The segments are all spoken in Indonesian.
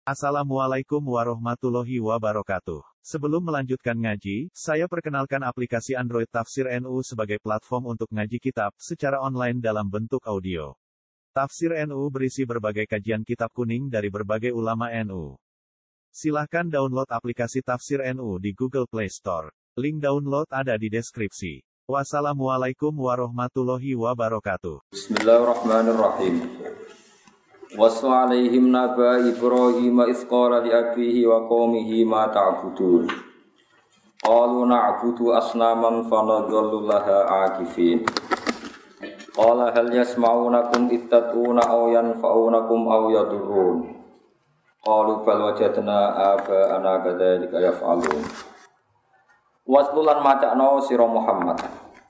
Assalamualaikum warahmatullahi wabarakatuh. Sebelum melanjutkan ngaji, saya perkenalkan aplikasi Android Tafsir NU sebagai platform untuk ngaji kitab secara online dalam bentuk audio. Tafsir NU berisi berbagai kajian kitab kuning dari berbagai ulama NU. Silahkan download aplikasi Tafsir NU di Google Play Store. Link download ada di deskripsi. Wassalamualaikum warahmatullahi wabarakatuh. Bismillahirrahmanirrahim. Wassu alaihim naba Ibrahim isqala li abihi wa qaumihi ma ta'budun. Qalu na'budu asnaman fanadhallu laha akifin. Qala hal yasma'unakum ittaquna aw yanfa'unakum aw yadurrun. Qalu bal wajadna aba'ana kadzalika yaf'alun. Waslulan macakno sira Muhammad.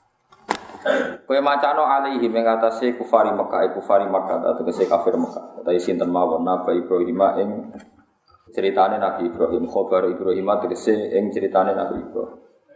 Kowe macakno alaihi ing atase kufari Makkah atau kese kafir Makkah. Utawi sinten mawon Nabi Ibrahim ing ceritane Nabi Ibrahim, khabar Ibrahim tegese ing ceritane Nabi Ibrahim.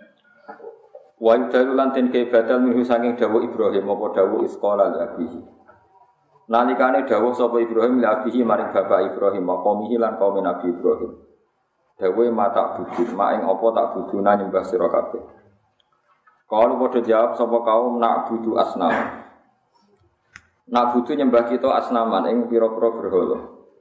Wa dalulan ten ke badal minhu saking dawuh Ibrahim apa dawuh isqala li abihi. Nalikane dawuh sapa Ibrahim li abihi maring bapak Ibrahim qaumihi lan kaum Nabi Ibrahim. Dawuhe mata budut mak ing apa tak buduna nyembah sira kabeh. Kalau pada jawab sapa kaum nak budu asnam. Nak budu nyembah kita asnaman ing pira-pira berhala.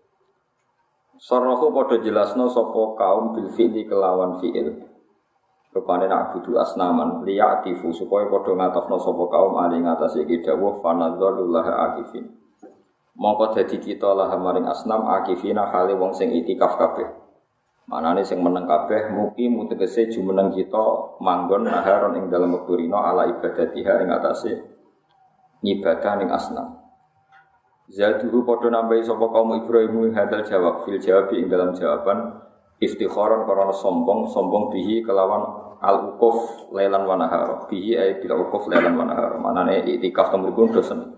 Sarahu pada jelasno sapa kaum bil fi'li kelawan fi'il. Rupane nak budu asnaman liya'tifu supaya padha ngatofno sapa kaum ali ngatasi iki dawuh fanadzalullah akifin. Mongko dadi kita lah maring asnam akifina hale wong sing itikaf kabeh. Manane sing meneng kabeh mugi mutegese jumeneng kita manggon naharon ing dalem wektu rina ala ibadatiha ing atase ngibadah ning asnam. Zaduhu padha nambahi sapa kaum Ibrahim hadal jawab fil jawabi ing dalam jawaban iftikharan karena sombong bihi kelawan al-uquf lailan wa nahar. Bihi ay bil uquf lailan wa nahar. Manane iktikaf temuripun dosen.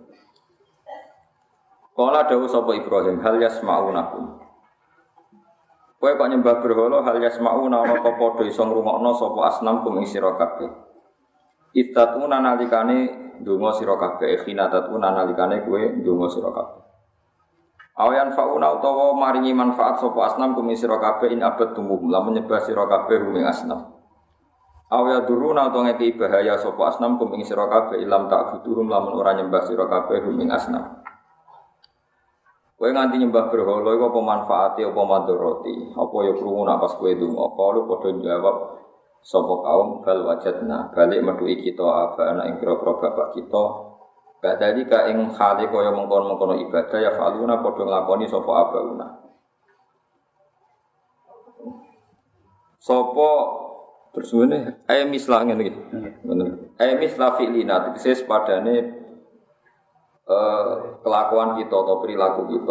Kala dawuh sapa Ibrahim hal yasma'unakum. Kowe kok nyembah berhala hal yasma'una ana apa padha iso ngrungokno sapa asnam kum ing sira kabeh. Ittatuna nalikane ndonga sira kabeh, khinatatuna nalikane kowe ndonga sira kabeh. Awayan fauna utawa maringi manfaat sapa asnam kum ing sira kabeh in abad tumum lamun nyembah sira kabeh ing asnam. Awya duruna utawa ngeki bahaya sapa asnam kum ing sira kabeh ilam tak buturum lamun ora nyembah sira kabeh ing asnam. Kowe nganti nyembah berhala iku apa manfaate apa madharati? Apa ya krungu nak pas kowe ndonga? Kalu padha jawab sapa kaum bal wajadna, balik metuki kita abana ing pira-pira bapak kita. Kadhalika ing hale kaya mengkon-mengkono ibadah ya faluna padha nglakoni sapa abauna. Sapa tersuwene ae mislah ngene iki. Ngono. Ae mislah fi'lina tegese padane kelakuan kita atau perilaku kita.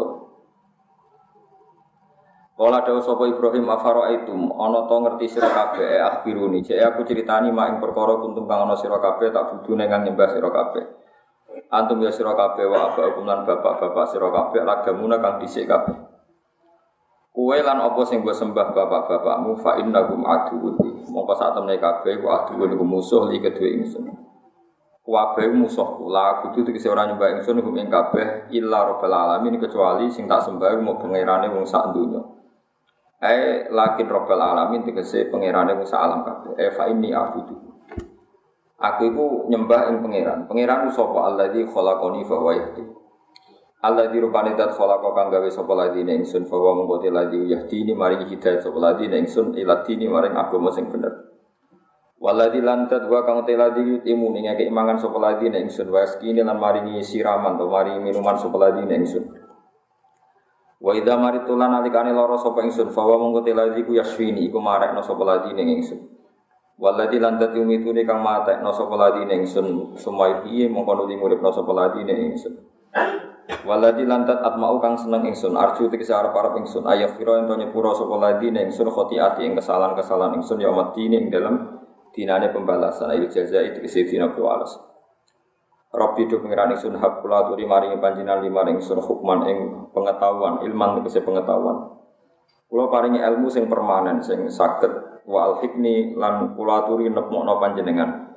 Kala dawuh sapa Ibrahim afara'aitum ana to ngerti sira kabeh akhbiruni jek aku critani mak ing perkara kuntum kang ana sira kabeh tak budune kang nyembah sira kabeh. Antum ya sira kabeh wa abakum lan bapak-bapak sira kabeh lagamuna kang dhisik kabeh. Kowe lan apa sing mbok sembah bapak-bapakmu fa innakum aduwwun. Mongko sak temne kabeh ku aduwwun iku musuh li kedue ingsun. Kabeh musuhku la kudu tegese ora nyembah ingsun hum ing kabeh illa rabbil alamin kecuali sing tak sembah mau pangerane wong sak donya. Lakin rabbil alamin tegese pangerane wong sak alam kabeh. Fa inni abudu. Aku iku nyembah ing pangeran. Pangeran sapa alladzi khalaqani fa huwa yahdi. Alladzi rupane dat khalaqa kang gawe sapa ladine ingsun fa huwa mungko te ladzi yahdini maring hidayah sapa ladine ingsun ila dini maring agama sing bener. Waladzi lantat wa kang teladi yutimu ning ngeke mangan sapa ladi nek ingsun waskine lan maringi siraman to maringi minuman sapa ladi nek ingsun. Wa idza maritulan alikane lara sapa ingsun fa wa mongko teladi ku yasfini iku marekno sapa ladi nek ingsun. Waladzi lantat yumitune kang matekno sapa ladi nek ingsun sumaihi mongko nuli muripno sapa ladi nek ingsun. Waladzi lantat atmau kang seneng ingsun arju tegese arep-arep ingsun ayafira ento nyepuro sapa ladi nek ingsun khotiati ing kesalahan-kesalahan ingsun ya matine ing dalem dinane pembalasan ayo jazai tegese dina balas. Rabbi do pengiran ingsun hak kula aturi maringi panjenengan limaring ingsun hukman ing pengetahuan, ilman tegese pengetahuan. Kula paringi ilmu sing permanen sing saged wa al-hikni lan kula aturi nepmokno panjenengan.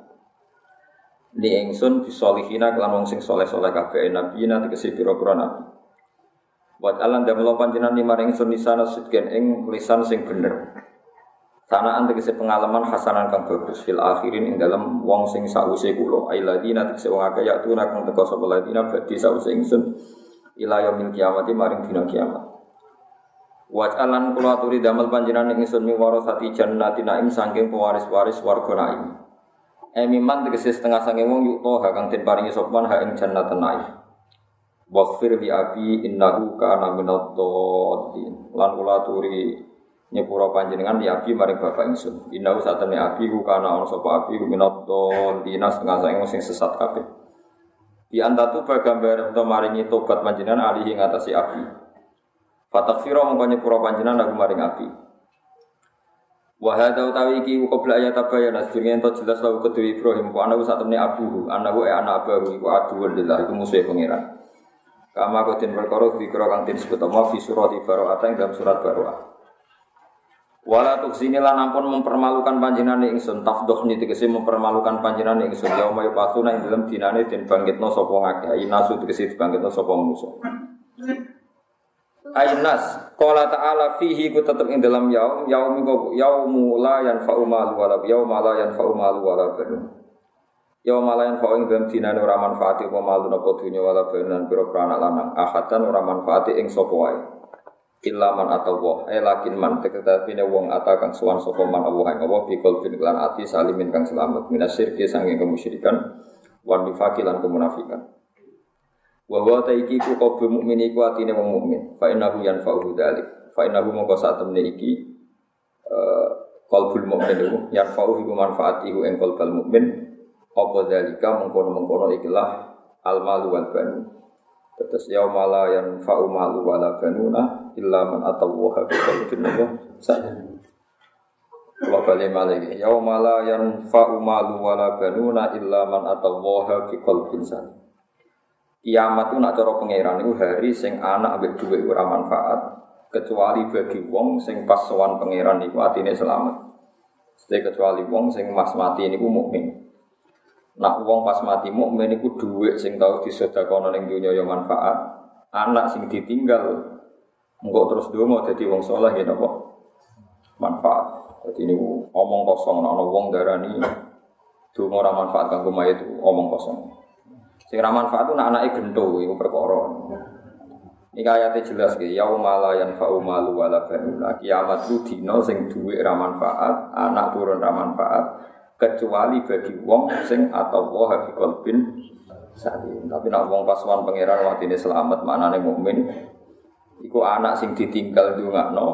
Li ingsun bisolihina kelan wong sing saleh-saleh kabeh nabiyina tegese pira-pira nabi. Wa alan damel panjenengan maring ingsun lisana sidqen ing lisan sing bener. Sanaan tegese pengalaman hasanan kang bagus fil akhirin ing dalam wong sing sause kula. Ailadina tegese wong akeh ya tuna kang teka sapa ladina badhe sause ingsun ila yaumil kiamati maring dina kiamat. Wa alan kula aturi damel panjenengan ingsun miwarasati jannati naim saking pewaris-waris warga naim. Miman tegese setengah saking wong yukto kang den paringi sopan ha ing jannatan naim. Waghfir li abi innahu kana minadh dhalin. Lan kula aturi nyepura panjenengan li abi maring bapak ingsun. Innahu satene abi ku kana ana sapa abi minadh dhalin setengah saking sing sesat kabeh. Di antatu bagambar ento maringi tobat panjenengan alihi ngatasi abi. Fatakfira mongko nyepura panjenengan aku maring abi. Wa hadza utawi iki qabla ayat tabayana sedurunge ento jelas lawu kedue Ibrahim ku ana satene abuhu anahu anak abahu iku aduwwul lillah iku musuhe pangeran. Kama kotin perkara dikira kang disebut ama fi surat Ibaroah ing dalam surat Baroah. Wala tuksini lan ampun mempermalukan panjenengan ingsun tafdhuhni tegese mempermalukan panjenengan ingsun yauma yaqatuna ing dalam dinane den bangkitna sapa ngakeh inasu tegese dibangkitna sapa manusa. Ainas qala ta'ala fihi ku tetep ing dalam yaumu la yanfa'u malu wala yauma la yanfa'u malu wala banun. Ya malayan fa'ing dalam dinane ora manfaati apa malu napa dunya wala banan pira-pira anak lanang ahatan ora manfaati ing sapa wae illa man atawa lakin man teketapine wong atakang sowan sapa man Allah ing Allah bikul bin lan ati salimin kang selamat minasyirki sanging kemusyrikan wan nifaqi lan kemunafikan wa wa taiki ku qabu mukmin iku atine wong mukmin fa innahu yanfa'u dzalik fa innahu mongko satemene iki qalbul mukmin yanfa'u iku manfaati iku ing qalbul mukmin apa dalika mengkono-mengkono ikilah al-malu wal banu. Terus yaumala yanfa'u malu wala banuna illa man atawaha bi qalbin salim. Wa kalima lagi yaumala yanfa'u malu wala banuna illa man atawaha bi qalbin salim. Kiamat itu nak cara pangeran itu hari sing anak ambek dhuwit ora manfaat kecuali bagi wong sing pas sowan pangeran iku atine selamat. Sete kecuali wong sing mas mati niku mukmin. Nak wong pas mati mukmin iku dhuwit sing tau disedekahno ning donya ya manfaat. Anak sing ditinggal engko terus donga dadi wong saleh ya napa? Manfaat. Dadi niku omong kosong ana wong darani donga ora manfaat kanggo mayit omong kosong. Sing ora manfaat ku nak anake gento iku perkara. Iki ayate jelas iki yaumala yanfa'u malu wala banuna. Kiamat ku dina sing dhuwit ora manfaat, anak turun ora manfaat. Kecuali bagi wong sing atawa hafi qalbin salim. Tapi nek wong pasuan pangeran watine selamat maknane mukmin iku anak sing ditinggal ndongakno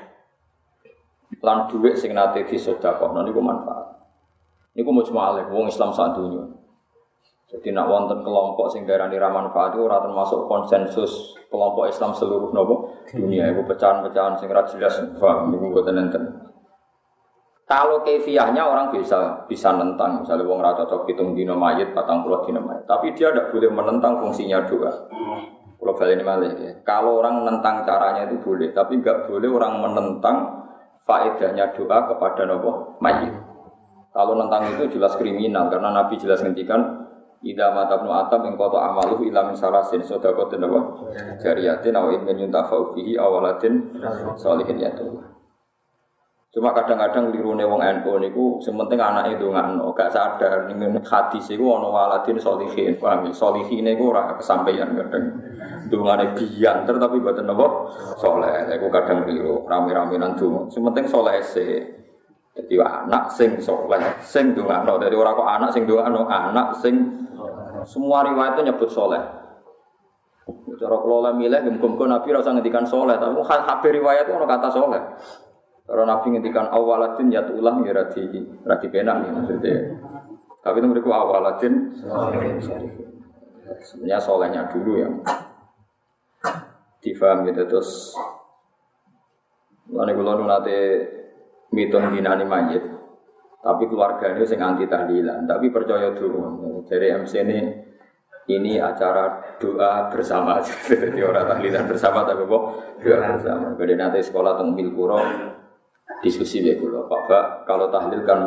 lan dhuwit sing nate disedekahno niku manfaat. Niku mujmalah wong Islam sak donya. Jadi nek wonten kelompok sing darani ra manfaat ora termasuk konsensus kelompok Islam seluruh nopo dunia iku pecahan-pecahan sing ra jelas paham niku mboten enten. Kalau kefiahnya orang bisa nentang, misalnya wong ra cocok hitung dina mayit, 40 dina mayit. Tapi dia tidak boleh menentang fungsinya doa. Kalau baleni malih ya. Kalau orang menentang caranya itu boleh, tapi enggak boleh orang menentang faedahnya doa kepada nopo mayit. Kalau nentang itu jelas kriminal karena Nabi jelas ngendikan idza matabnu atam ing qata amaluhu ila min salasin sadaqatin wa jariyatin aw ilmin yuntafa'u bihi awaladin sholihin yatullah. Cuma kadang-kadang lirune wong NU niku sementing anake ndongakno, gak sadar ning hadis iku ana waladin sholihin, paham ya? Sholihin iku ora kesampaian kadang. Ndongane biyanter tapi mboten napa saleh. Iku kadang keliru, rame-rame nang donga. Sementing saleh sik. Dadi anak sing saleh, sing ndongakno. Dadi ora kok anak sing ndongakno, anak sing semua riwayat itu nyebut saleh. Cara kula milih muga-muga Nabi ora usah ngendikan saleh, tapi kabeh riwayat itu ana kata saleh. Kalau Nabi ngendikan awaladin ya tulang ya radi penak nih maksudnya. Tapi itu mereka awaladin sebenarnya solehnya dulu yang difaham gitu terus. Lalu kalau nanti mitung dinani mayit, tapi keluarganya sing anti tahlilan, tapi percaya dulu dari MC ini acara doa bersama, jadi orang tahlilan bersama tapi kok doa bersama. Kemudian nanti sekolah tengmil kuro. Diskusi ya kula Pak, kalau tahlil kan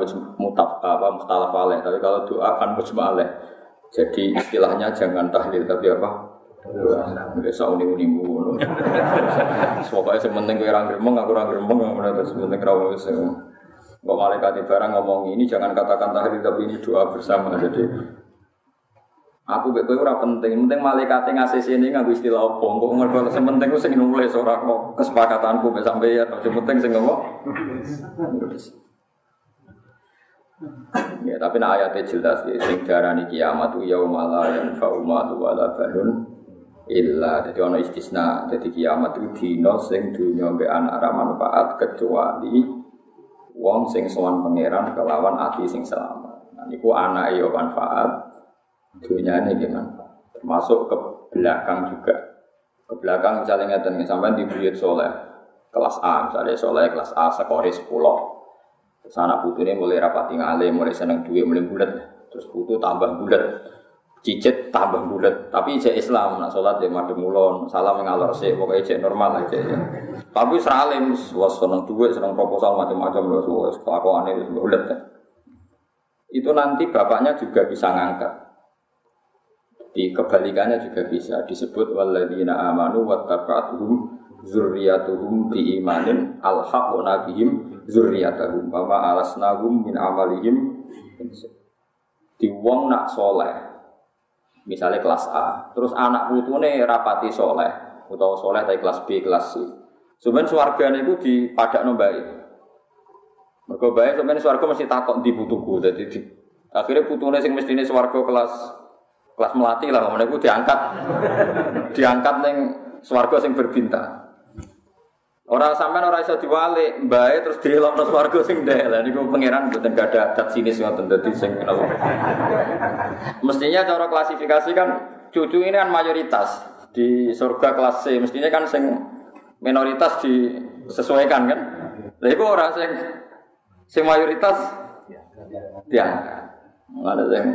mukhtalaf alaih, tapi kalau doa kan mujma' alaih. Jadi istilahnya jangan tahlil tapi apa? Biasa uni-uni ngono. Pokoke sing penting kowe ora gremeng, aku ora gremeng, ngono terus penting ra wis. Kok malaikat barang ngomong ini jangan katakan tahlil tapi ini doa bersama. Jadi aku mek kowe ora penting malaikate ngasih sini nganggo istilah apa. Kok mergo sing penting ku sing nulis ora kok kesepakatanku mek sampeyan. Sing penting sing ngomong. Ya, tapi nak ayatnya jelas ya, sing darani kiamat itu yaumul la yanfa'u malun wala banun illa. Jadi ana istisna. Jadi kiamat itu dina sing dunya mbek anak ra manfaat kecuali wong sing sowan pangeran kelawan ati sing selamat. Nah niku anake ya manfaat, dunyane ki manfaat. Termasuk ke belakang juga. Ke belakang misalnya ngeten sampean di buyut saleh kelas A, misalnya saleh kelas A skore 10. Terus anak putune mulai rapati ngalim, mulai seneng duit, mulai bulet. Terus putu tambah bulet, cicit tambah bulet. Tapi cek Islam, nak sholat ya madem mulon, salam ngalor sih, pokoknya cek normal aja ya. Tapi seralim, was seneng duit, seneng proposal macam-macam loh, kelakuannya itu bulet. Itu nanti bapaknya juga bisa ngangkat. Di kebalikannya juga bisa disebut walladzina amanu wattaba'atuhum zurriyatuhum biimanin alhaqna bihim zurriyatahum wa ma alasnahum min amalihim. Di wong nak soleh misalnya kelas A terus anak putune rapati soleh utawa soleh dari kelas B kelas C sebenarnya swargane iku dipadakno bae mergo bae sebenarnya swarga mesti takok ndi putuku dadi akhirnya putune sing mestine swarga kelas melati lah ngene iku diangkat ning swarga sing berbintang. Orang sampean ora iso diwalik, mbae terus dilokno swarga sing ndek. Lah niku pangeran mboten gadah adat sinis ngoten dadi sing mestinya cara klasifikasi kan cucu ini kan mayoritas di surga kelas C, mestinya kan sing minoritas disesuaikan kan. Lah iku ora sing mayoritas diangkat. Ada sing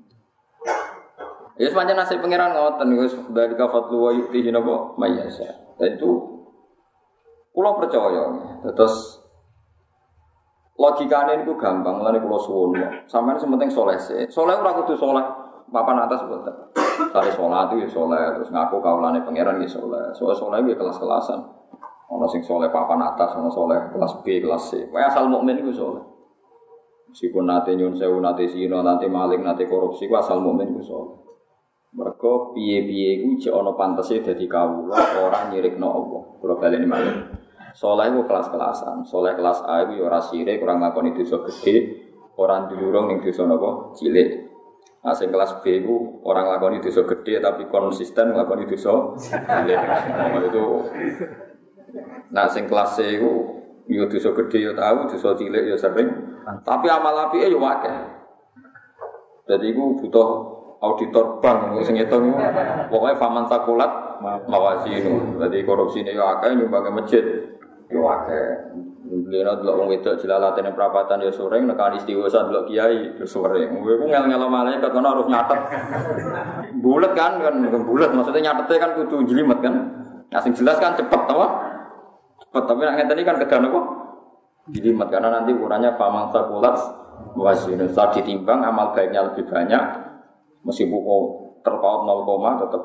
ya sepanjang nasib pangeran ngoten wis dari kafatlu wa yu'tihi napa mayyasha. Dan itu kula percaya, terus logikane niku gampang, lane kula suwun. Sampeyan sementing saleh sih. Saleh ora kudu saleh papan atas mboten. Kare salat iki saleh, terus ngaku kaulane pangeran iki saleh. Soale saleh iki kelas-kelasan. Ana sing saleh papan atas, ana saleh kelas B, kelas C. Wae asal mukmin iku saleh. Meskipun nate nyun sewu, nate zina, nate maling, nate korupsi, ku asal mukmin iku saleh. Mergo piye-piye iku jek ana pantese dadi kawula ora nyirikno Allah. Kula baleni malih. Saleh iku kelas-kelasan. Saleh kelas A iku ya ora sirik, ora nglakoni dosa gedhe, ora ndulurung ning dosa napa cilik. Nah sing kelas B iku ora nglakoni dosa gedhe tapi konsisten nglakoni dosa cilik. Itu nah sing kelas C iku ya dosa gedhe ya tau, dosa cilik ya sering. Tapi amal apike ya akeh. Dadi iku butuh auditor bank sing ngitung pokoke faman takulat mawasinu. Dadi korupsine ya akeh nyumbang masjid ya akeh. Lha delok wong wedok jelalatene prapatan ya sering nekani istighosah delok kiai ya sering. Kowe ku ngel-ngelo malaikat kono harus nyatet. Bulet kan bulet maksudnya nyatete kan kudu jlimet kan. Nah sing jelas kan cepet apa? Cepet tapi nek ngeten iki kan kedan apa? Jlimet karena nanti ukurannya faman takulat mawasinu. Saat ditimbang amal baiknya lebih banyak. Meskipun terpaut 0, tetap.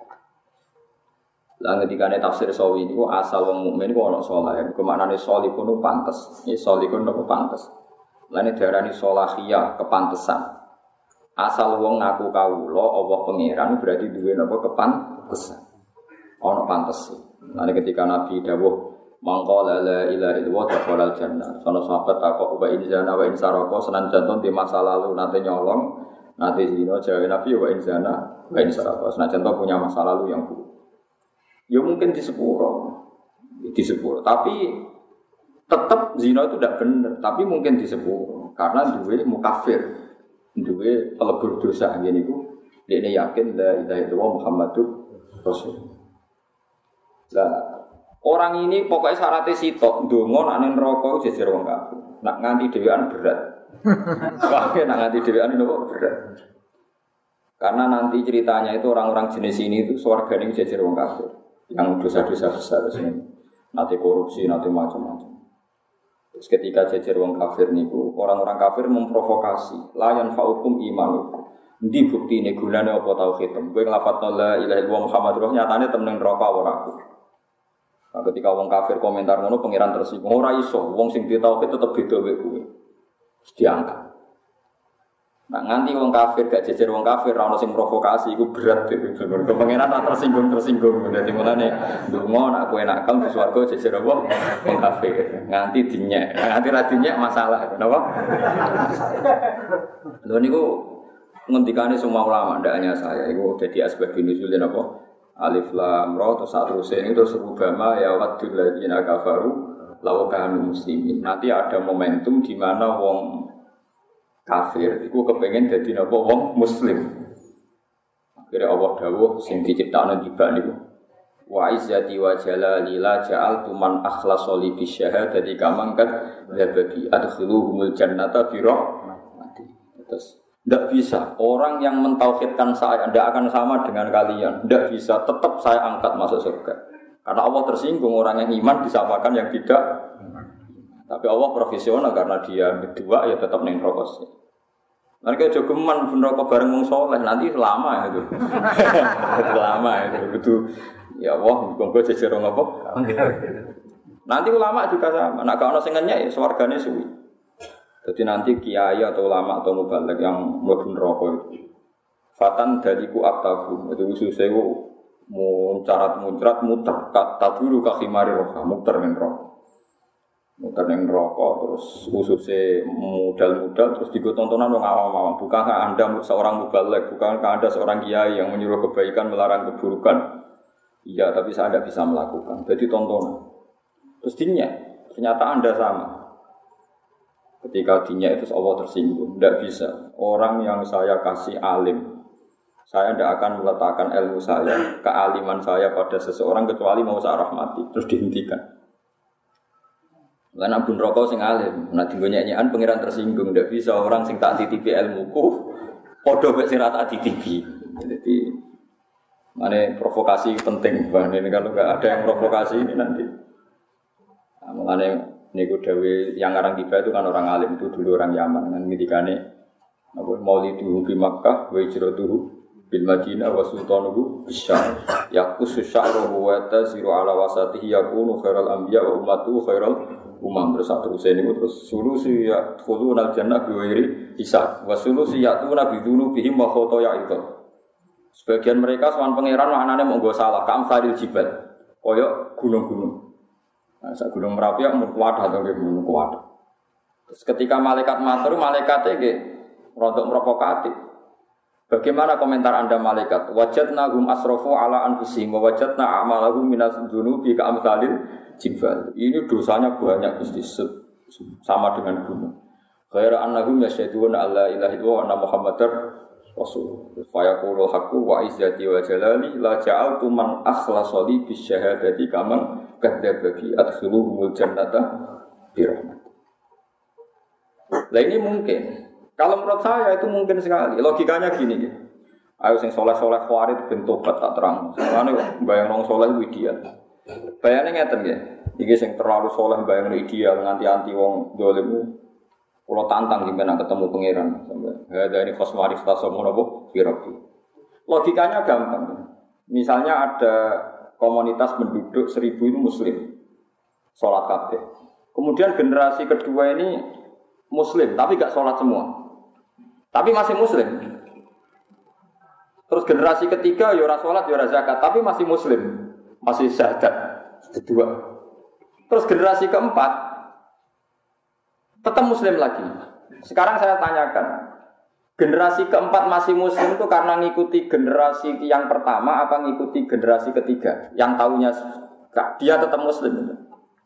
Lah ngendikane tafsir sawi niku asal wong mukmin iku ana saleh. Kemaknane salihun ku pantes. Ya salihun ku pantes. Lah nek diarani salahiyah kepantesan. Asal wong ngaku kawula Allah pangeran berarti duwe napa kepantesan. Ana pantes. Lah ketika Nabi dawuh mangko la ilaha illallah dakhalal jannah. Sono sahabat takok wa in zana wa in saraka senan jantung di masa lalu nate nyolong nanti zina jawab Nabi wa inzana wa insaraka. Senajan to punya masa lalu yang buruk. Ya mungkin di sepuro. Tapi tetap zina itu tidak benar. Tapi mungkin di sepuro karena duwe mukafir, duwe pelebur dosa ngene iku. Dene yakin la ilaha illallah Muhammadur Rasul. Lah orang ini pokoknya syaratnya sitok ndonga nek neraka jejer wong kafir. Nak nganti dhewean berat. Wah, nak nganti dhewean nopo berat. Karena nanti ceritanya itu orang-orang jenis ini itu swargane jejer wong kafir yang dosa-dosa besar sini. Nanti korupsi, nanti macam-macam. Terus ketika jejer wong kafir niku, orang-orang kafir memprovokasi, la yanfa'ukum imanukum. Ndi buktine gunane apa tauhid? Kowe nglafadzno la ilaha illallah Muhammadur Rasulullah nyatane temen neraka ora aku. Nah, ketika wong kafir komentar ngono pangeran tersinggung. Ora iso, wong sing di tauhid tetep beda wae kowe. Diangkat. Nah, nganti wong kafir gak jejer wong kafir ora ono sing provokasi iku berat dhewe. Pangeran ora tersinggung. Dadi mulane ndonga nek kowe nakal di swarga jejer apa wong kafir. Nganti dinyek. Nganti ra dinyek masalah. Napa? Lho niku ngendikane semua ulama ndak hanya saya. Iku dadi asbab nuzulin apa? Alif lam ra terus saterusé ini terus rubama ya wadul ladzina kafaru law kanu muslimin. Nanti ada momentum di mana wong kafir iku kepengin dadi napa wong muslim. Akhire Allah dawuh sing diciptakno tiba niku wa izzati wa jalali la ja'altu man akhlasa li bi syahadati kamangkat labadi adkhiluhumul jannata bi rahmati. Terus tidak bisa, orang yang mentauhidkan saya tidak akan sama dengan kalian. Tidak bisa, tetap saya angkat masuk surga. Karena Allah tersinggung, orang yang iman disapakan yang tidak. Tapi Allah profesional karena dia berdua ya tetap neng rokok. Nanti jogeman pun rokok bareng wong soleh nanti lama itu. Lama itu betul. Ya Allah, monggo jejer apa? Nanti ulama juga sama. Nak kalau sengennya ya swargane suwi. Jadi nanti kiai atau ulama atau mubaligh yang mlebu neraka itu fatan daliku aktabu itu ususé muncrat muter kata dulu kahimari roha muter ning neraka terus ususé mudal-mudal terus ditontonan wong awam-awam bukankah Anda seorang mubaligh bukankah Anda seorang kiai yang menyuruh kebaikan melarang keburukan iya tapi saya tidak bisa melakukan jadi tontonan terus ternyata Anda sama. Ketika dinya itu Allah tersinggung, tidak bisa. Orang yang saya kasih alim, saya tidak akan meletakkan ilmu saya, kealiman saya pada seseorang kecuali mau saya rahmati, terus dihentikan. Karena bun rokok sing alim, nah tinggal nyanyian pengiran tersinggung, tidak bisa orang sing tak titipi ilmuku, podo mek sing tak titipi. Jadi mana provokasi penting, ini kalau nggak ada yang provokasi ini nanti, mengenai niku dewe yang ngarang tiba itu kan orang alim itu dulu orang Yaman kan ngendikane apa maulidu bi Makkah wa hijratuhu bil Madinah wa sultanuhu bisyam yaqusu sya'ruhu wa tasiru ala wasatihi yakunu khairal anbiya wa ummatu khairal umam bersatu niku terus sulusi ya khulunal jannah bi ghairi hisab wa sulusi ya'tuna bi dzunubihim wa khotoya itu sebagian mereka sowan pangeran maknane monggo salah kamsalil jibal koyo gunung-gunung. Nah, sak gunung Merapi mun kuat atau nggih mun kuat. Terus ketika malaikat matur, malaikate nggih rodok provokatif. Bagaimana komentar Anda malaikat? Wajadna hum asrafu ala anfusihim wa wajadna a'malahum minas dzunubi ka amsalil jibal. Ini dosanya banyak Gusti sama dengan gunung. Ghaira annahum yasyhaduna alla ilaha illallah wa anna muhammadar rasul. Fa yaqulul haqqu wa izzati wa jalali la ja'altu man akhlasa li bisyahadati kaman kadzdzabaki adkhiluhumul jannata bi rahmat. Lah ini mungkin. Kalau menurut saya itu mungkin sekali. Logikanya gini. Ayo sing saleh-saleh khawarit ben tobat tak terang. Soalane bayang wong saleh ku ideal. Bayane ngeten nggih. Iki sing terlalu saleh bayang ideal nganti anti wong dolim. Kula tantang sampeyan ketemu pangeran sampai. Ada ini khosmari stasomo napa? Firabi. Logikanya gampang. Misalnya ada komunitas penduduk 1000 itu muslim. Salat kabeh. Kemudian generasi kedua ini muslim tapi enggak salat semua. Tapi masih muslim. Terus generasi ketiga ya ora salat ya ora zakat tapi masih muslim. Masih syahadat. Kedua. Terus generasi keempat tetap muslim lagi. Sekarang saya tanyakan, generasi keempat masih muslim itu karena ngikuti generasi yang pertama apa ngikuti generasi ketiga? Yang tahunya dia tetap muslim.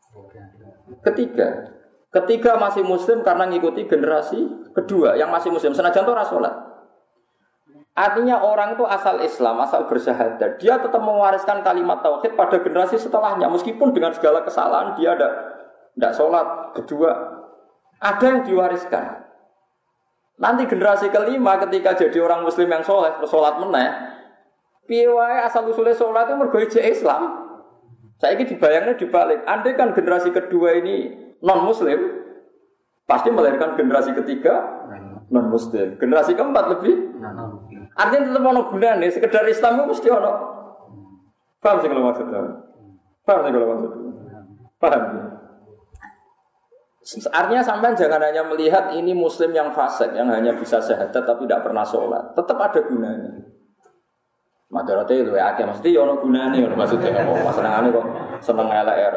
Ketiga masih muslim karena ngikuti generasi kedua yang masih muslim. Senajan itu ora salat. Artinya orang itu asal Islam, asal bersyahadat, dia tetap mewariskan kalimat tauhid pada generasi setelahnya meskipun dengan segala kesalahan dia tidak salat kedua. Ada yang diwariskan. Nanti generasi kelima ketika jadi orang muslim yang soleh, bersolat meneh, piye wae asal usulnya solat itu mergo Islam. Saiki dibayangnya dibalik. Andai kan generasi kedua ini non muslim, pasti melahirkan generasi ketiga non muslim. Generasi keempat lebih. Artinya tetap ono gunane, sekedar Islam itu mesti ono. Paham sih kalau maksudnya? Paham sih kalau maksudnya? Paham. Artinya sampean jangan hanya melihat ini muslim yang fasik yang hanya bisa syahadat tapi tidak pernah sholat. Tetap ada gunanya. Madarate itu ya akeh mesti ono gunane maksudnya apa? Senengane kok seneng LR.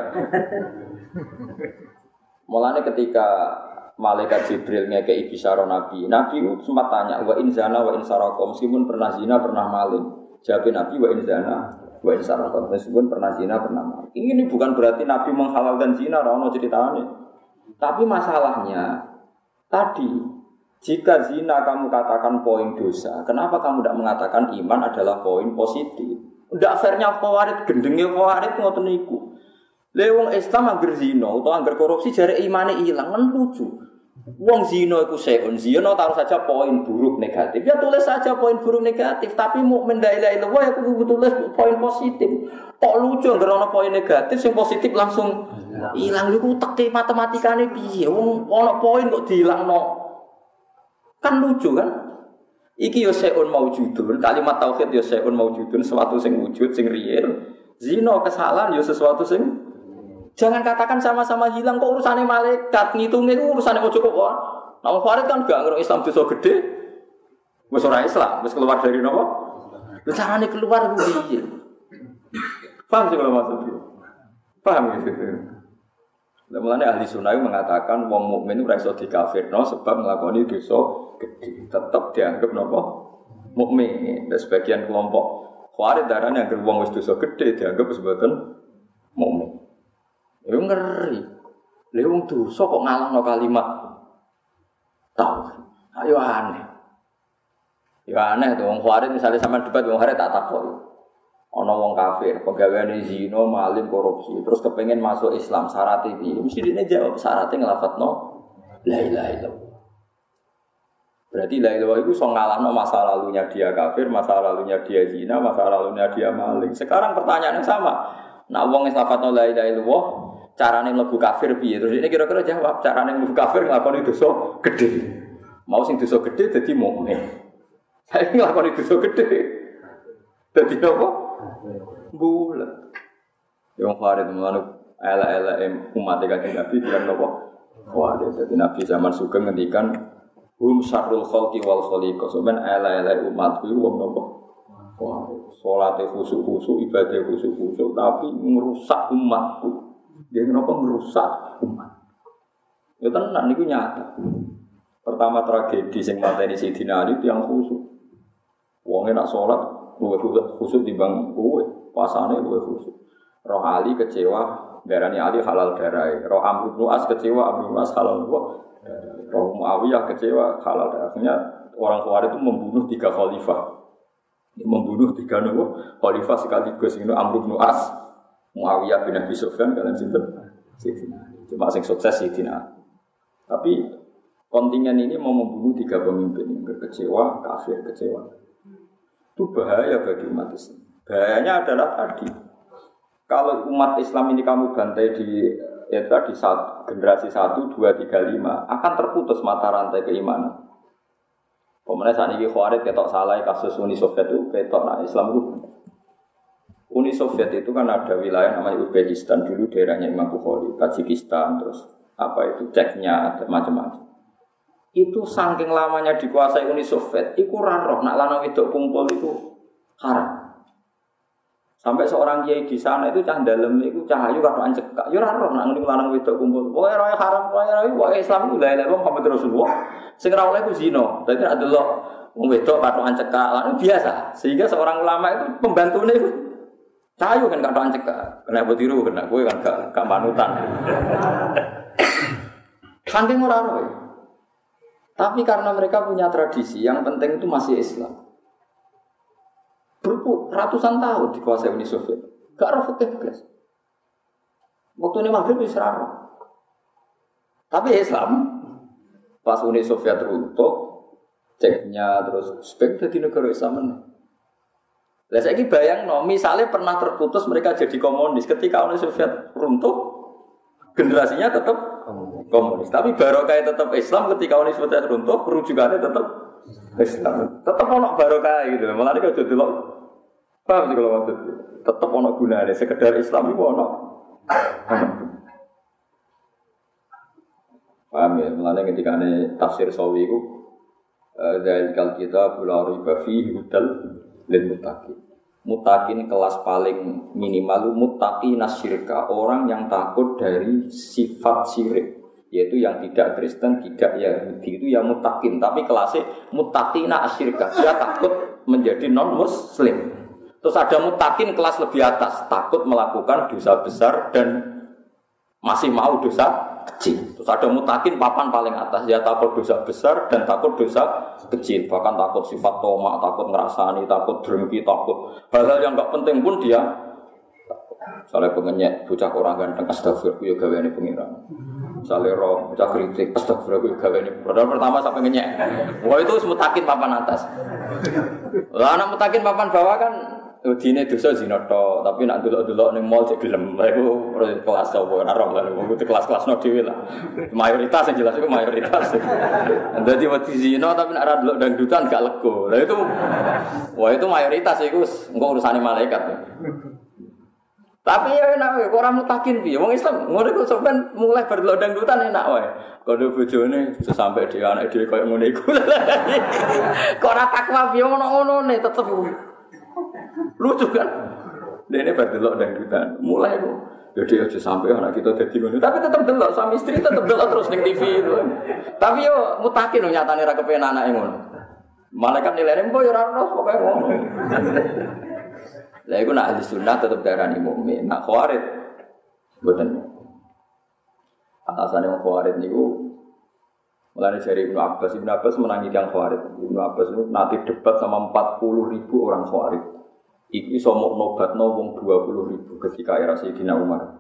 Mulane ketika malaikat Jibril ngekei bisyara Nabi sempat tanya wa in zana wa in sarqa meskipun pernah zina pernah maling. Jawab Nabi wa in zana wa in sarqa meskipun pernah zina pernah maling. Ini bukan berarti Nabi menghalalkan zina ora ono ceritane. Tapi masalahnya tadi jika zina kamu katakan poin dosa, kenapa kamu tidak mengatakan iman adalah poin positif? Ndak fairnya Khawarij gendenge Khawarij ngoten niku. Lha wong Islam angger zina utawa angger korupsi jare imane ilang kan lucu. Wong zina iku seun zina taruh saja poin buruk negatif. Ya tulis saja poin buruk negatif, tapi mukmin la ilaha illallah ya kudu tulis poin positif. Kok lucu angger ana poin negatif sing positif langsung ilang niku teke matematikane piye? Wong ana poin kok diilangno. Kan lucu kan? Iki yo seun maujudun, kalimat tauhid yo seun maujudun, sesuatu sing wujud, sing real. Zina kesalahan yo sesuatu sing jangan katakan sama-sama hilang kok urusane malaikat, ngitunge ku urusane ojo kok. Nah, Khawarij kan gak ngira Islam dosa gede. Wis ora Islam, wis keluar dari napa? Lha carane keluar ku piye? Paham sih kalau maksudnya? Paham gitu. Mulane ahli sunnah mengatakan wong mukmin ora iso dikafirno sebab nglakoni dosa gede, tetap dianggap napa mukmin. Dan sebagian kelompok Khawarij darane anggere wong wis dosa gede dianggap sebagai mukmin. Ya ngeri. Lha wong dosa kok ngalahno kalimat tauhid. Ayo aneh. Ya aneh to wong Khawarij misalnya sampean debat wong Khawarij tak takok. Ana wong kafir, pegawaiane zina, maling, korupsi, terus kepengin masuk Islam, syaratnya piye? Mesti dene jawab syaratnya nglafatno la ilaha illallah. Berarti la ilaha itu iso ngalahno masa lalunya dia kafir, masa lalunya dia zina, masa lalunya dia maling. Sekarang pertanyaannya sama. Nah wong wis lafadzno la ilaha illallah, carane mlebu kafir piye? Terus ini kira-kira jawab, carane mlebu kafir nglakoni dosa gede. Mau sing dosa gede dadi mukmin. Saya nglakoni dosa gede. Dadi apa? Bulan. Yang Khawarij menganut ala-ala umat Kanjeng Nabi bilang apa? Khawarij. Jadi Nabi zaman Sugeng ngendikan hum syarrul khalqi wal khaliqah. Sampeyan ala-ala umatku iku wong napa? Khawarij. Salate khusyuk-khusyuk, ibadah khusyuk-khusyuk tapi merusak umatku. Dia kenapa merusak umat? Ya tenan niku nyata. Pertama tragedi sing mateni Sayyidina Ali tiyang khusyuk. Wonge nak salat luwih khusyuk timbang kowe, pasane luwih khusyuk. Roh Ali kecewa, darani Ali halal darai. Roh Amr bin As kecewa, Amr bin As halal darah. Roh Muawiyah kecewa, halal darahnya. Orang Khawarij itu membunuh 3 khalifah. Membunuh 3 khalifah sekaligus. Ini Amr bin As, Muawiyah bin Abi Sufyan, kalian sinten? Cuma sing sukses Sayyidina. Tapi kontingen ini mau membunuh 3 pemimpin yang kecewa, kafir kecewa. Itu bahaya bagi umat Islam. Bahayanya adalah tadi, kalau umat Islam ini kamu bantai di generasi 1, 2, 3, 5 akan terputus mata rantai keimanan. Pemenang saat ini Khawarij ketok salah kasus Uni Soviet itu ketok nah Islam itu. Uni Soviet itu kan ada wilayah namanya Uzbekistan dulu daerahnya Imam Bukhari, Tajikistan, terus apa itu Ceknya, ada macam-macam. Itu saking lamanya dikuasai Uni Soviet, itu roh nak lanang wedok kumpul itu haram. Sampai seorang kiai di sana itu cah dalem itu cahayu katokan cekak. Yo ora roh nak ngene lanang wedok kumpul. Pokoke roe haram, pokoke Islam ku la ilaha illallah Muhammad Rasulullah. Sing ora oleh ku zina. Dadi nek delok wong wedok katokan cekak lan biasa. Sehingga seorang ulama itu pembantune itu cahayu kan katokan cekak. Kena botiru kena kowe kan gak panutan. Saking ora roe. Tapi karena mereka punya tradisi, yang penting itu masih Islam. Ratusan tahun dikuasai Uni Soviet. Gak roh fikih blas. Waktu ini maghrib wis ra roh. Tapi Islam pas Uni Soviet runtuh, Ceknya terus Uzbek dadi negara Islam. Lah saiki bayangno, misalnya pernah terputus mereka jadi komunis ketika Uni Soviet runtuh, generasinya tetap komunis. Tapi barokah tetap Islam ketika Uni Soviet runtuh, rujukannya tetap Islam. Tetap ono barokah gitu. Malah nek aja delok. Paham sih kalau maksud. Tetap ono gunane sekedar Islam iku ono. Paham ya? Malah ketika tafsir Sawi iku dzalikal kitabul la raiba fihi hudal lil muttaqin. Muttaqin kelas paling minimal muttaqin asyirka, orang yang takut dari sifat syirik, yaitu yang tidak Kristen, tidak Yahudi, itu yang muttaqin. Tapi kelasnya muttaqina asyirka, dia takut menjadi non muslim. Terus ada muttaqin kelas lebih atas, takut melakukan dosa besar dan masih mau dosa kecil. Terus ada muttaqin papan paling atas, dia takut dosa besar dan takut dosa kecil, bahkan takut sifat tomak, takut ngerasani, takut drengki, takut hal-hal yang enggak penting pun dia. Misalnya pengenyek, bocah orang ganteng, astagfirullah, ya gaweane pengiran. Misalnya roh, bocah kritik, astagfirullah, ya gaweane. Padahal pertama sampai ngenyek. Wah itu muttaqin papan atas. Lah anak muttaqin papan bawah kan dine dosa zina tok, tapi nak delok-delok ning mall cek gelem. Lah iku kelas apa ora roh lah, itu kelas-kelasno dhewe lah. Mayoritas yang jelas itu mayoritas. Dadi wedi zina tapi nak ora delok dangdutan gak lego. Lah itu wah itu mayoritas iku engko urusane malaikat. Tapi ya enak wae, ora mutakin piye. Wong Islam ngono iku sampean mulai berdelok dangdutan enak wae. Kono bojone sampai dhewe anak dhewe koyo ngene iku. Kok ora takwa piye ngono-ngonone tetep lucu kan? Dene berdelok dangdutan. Mulai kok ya dia aja sampai anak kita dadi ngono. Tapi tetep delok sama istri tetep delok terus ning TV itu. Tapi yo mutakin nyatane ra kepen anake ngono. Malaikat nilainya mbok yo ora ono pokoke ngono. Lah iku nak ahli sunnah tetep darani mukmin. Nak khawarij mboten. Alasane wong khawarij niku mulane jari Ibnu Abbas menangi yang khawarij. Ibnu Abbas itu nanti debat sama 40.000 orang khawarij. Iku iso nobatno wong 20.000 ketika era Sayyidina Umar.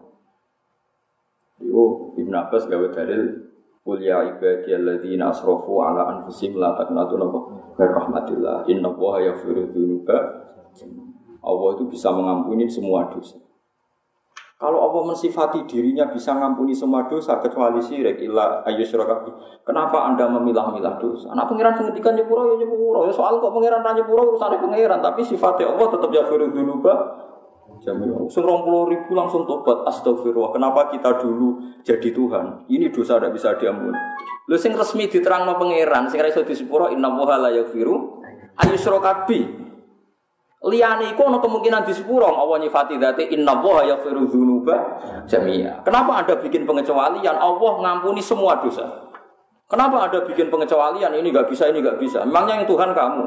Iku Ibnu Abbas gawe dalil qul ya ibadiyalladzina asrafu ala anfusihim la taqnatu min rahmatillah innallaha yaghfiru dzunuba. Allah itu bisa mengampuni semua dosa. Kalau Allah mensifati dirinya bisa mengampuni semua dosa kecuali syirik illa ayyusyraka. Kenapa Anda memilah-milah dosa? Anak pangeran ngendikan nyepuro ya nyepuro. Ya soal kok pangeran ra nyepuro urusane pangeran, tapi sifatnya Allah tetap yaghfiru dzunuba jami'an. 20.000 langsung tobat astagfirullah. Kenapa kita dulu jadi Tuhan? Ini dosa tidak bisa diampuni. Lho sing resmi diterangno pangeran, sing ra iso disepuro innallaha la yaghfiru ayyusyraka bi. Liyane iku ana kemungkinan disepuro Allah nyifati dzate innallaha yaghfiru dzunuba jami'a. Kenapa Anda bikin pengecualian? Allah ngampuni semua dosa. Kenapa Anda bikin pengecualian? Ini enggak bisa, ini enggak bisa. Memangnya yang Tuhan kamu?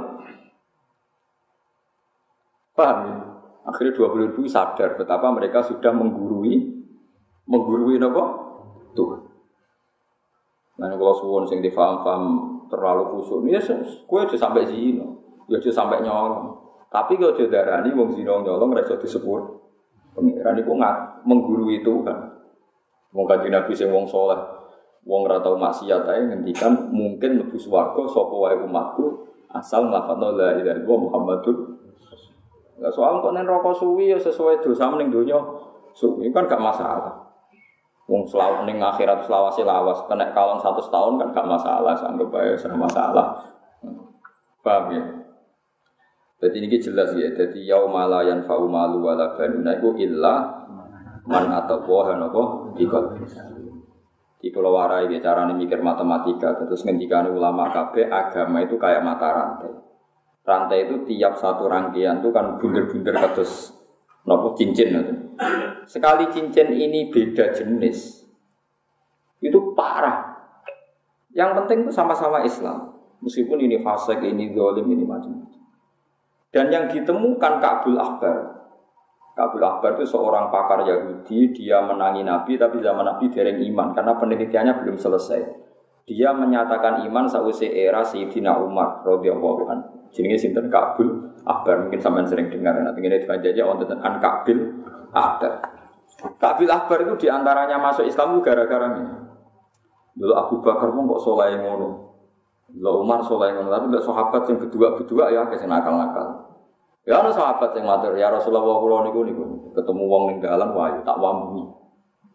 Paham ya? Akhirnya 20.000 sadar betapa mereka sudah menggurui apa? Tuhan. Nah, kalau suwon sing difaham-faham terlalu khusyuk, ya kowe aja sampai zina, ya aja sampai nyolong. Tapi kalau jodarani wong zina nyolong ora iso disepur. Pengiran iku menggurui Tuhan. Wong kanjeng Nabi sing wong saleh, wong ora tau maksiat ae ngendikan mungkin mlebu swarga sapa wae umatku asal nglafadzna la ilaha illallah Muhammadur. Lah soal kok nek neraka suwi ya sesuai dosa ning donya. Suwi kan gak masalah. Wong selawas ning akhirat selawase lawas, kena kalon 100 tahun kan gak masalah, anggap bae sama masalah. Paham ya? Jadi ini jelas ya. Jadi yaumala yanfa'u malu wala banuna iku illa man atawaha napa dikon. Di pulau warai dia carane mikir matematika terus ngendikane ulama kabeh agama itu kayak mata rantai. Rantai itu tiap satu rangkaian itu kan bunder-bunder kados napa cincin itu. Sekali cincin ini beda jenis. Itu parah. Yang penting itu sama-sama Islam. Meskipun ini fasik, ini zalim, ini macam-macam. Dan yang ditemukan Ka'bul Ahbar. Ka'bul Ahbar itu seorang pakar Yahudi, dia menangi Nabi tapi zaman Nabi dereng iman karena penelitiannya belum selesai. Dia menyatakan iman sausai era Sayyidina Umar radhiyallahu anhu. Jenenge sinten Ka'bul Ahbar, mungkin sampean sering dengar nanti ngene dipanjaji wonten an Ka'bul Ahbar. Ka'bul Ahbar itu diantaranya masuk Islam itu gara-gara ini. Dulu Abu Bakar pun kok saleh ngono. Dulu Umar saleh ngono, tapi lek sahabat sing berdua ya akeh sing nakal-nakal. Ya ana sahabat yang matur, ya Rasulullah kula niku ketemu wong ning dalan wae tak wambungi.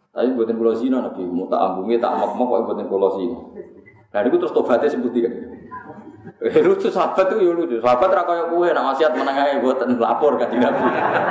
Tapi mboten kula zina Nabi, tak ambunge tak mok-mok kok mboten kula zina. Lah niku terus tobaté sebut iki. Lucu sahabat itu ya lucu. Sahabat ra kaya kowe nek maksiat meneng ae mboten lapor kan Nabi.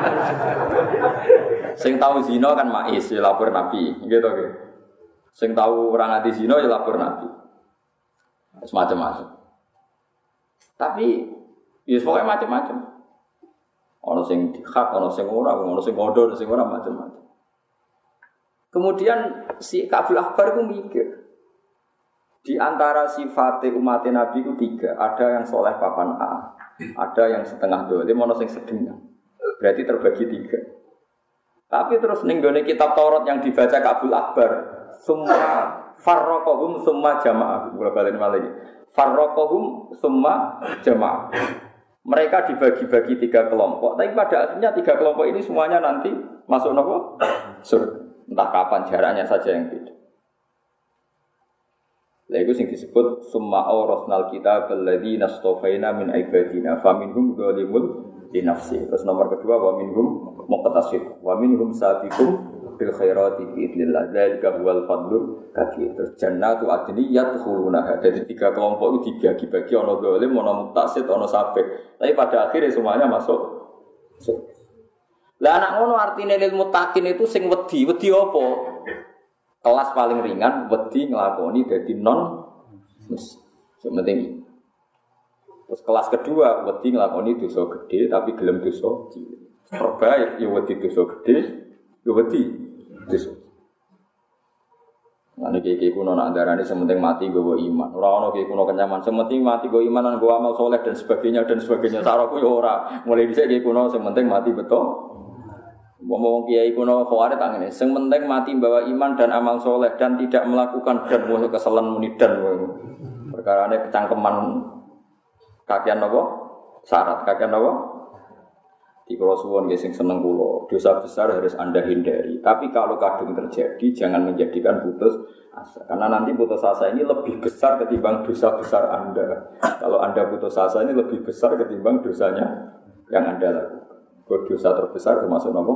Sing tahu zina kan mais ya lapor Nabi, gitu nggih. Sing tahu ora ngati zina ya lapor Nabi. Semacam-macam. Tapi ya pokoknya macam-macam. Ono sing dihak, ono sing ora, ono sing ngodo, ono sing ora macam-macam. Kemudian si Ka'bul Ahbar itu mikir. Di antara sifat umat Nabi itu 3. Ada yang soleh papan A, ada yang setengah dolim, ono sing sedengah. Berarti terbagi 3. Tapi terus ning gone kitab Taurat yang dibaca Ka'bul Ahbar, semua farraqahum summa jamaah. Kula balen malih. Farraqahum summa jamaah. Mereka dibagi-bagi 3 kelompok, tapi pada akhirnya 3 kelompok ini semuanya nanti masuk neraka surga. Entah kapan jaraknya saja yang beda. Lha iku sing disebut summa awrasnal kitab alladziina astafaina min ibadina faminhum dzalimun li nafsi. Terus nomor kedua wa minhum muqtasid wa minhum sabiqun bil khairati bi idznillah. Dzalika huwal fadlul kabir. Terus jannatu adni yadkhulunaha. Jadi 3 kelompok itu dibagi-bagi ana zalim, ana muqtasid, ana sabiq. Tapi pada akhirnya semuanya masuk surga. Lah anak ngono artine lil muttaqin itu sing wedi apa? Kelas paling ringan wedi nglakoni dadi non muslim. Sing penting. Terus kelas kedua wedi nglakoni dosa gede tapi gelem dosa cilik. Terbaik ya wedi dosa gede, ya wedi dosa. Lan iki kuno nak darane sementing mati nggawa iman. Ora ono iki kuno kenyaman, sementing mati nggawa iman lan nggawa amal soleh dan sebagainya dan sebagainya. Saraku ya ora. Mulai dhisik iki kuno sementing mati betul. Ngomong kiai kuno khawarit tak ngene, sing penting mati bawa iman dan amal soleh dan tidak melakukan dan kesalahan munidan. Perkarane kecangkeman kakean napa? Syarat kakean napa? Di kula suwun nggih sing seneng kula, dosa besar harus Anda hindari. Tapi kalau kadung terjadi jangan menjadikan putus asa. Karena nanti putus asa ini lebih besar ketimbang dosa besar Anda. Kalau Anda putus asa ini lebih besar ketimbang dosanya yang Anda lakukan. Dosa terbesar termasuk nama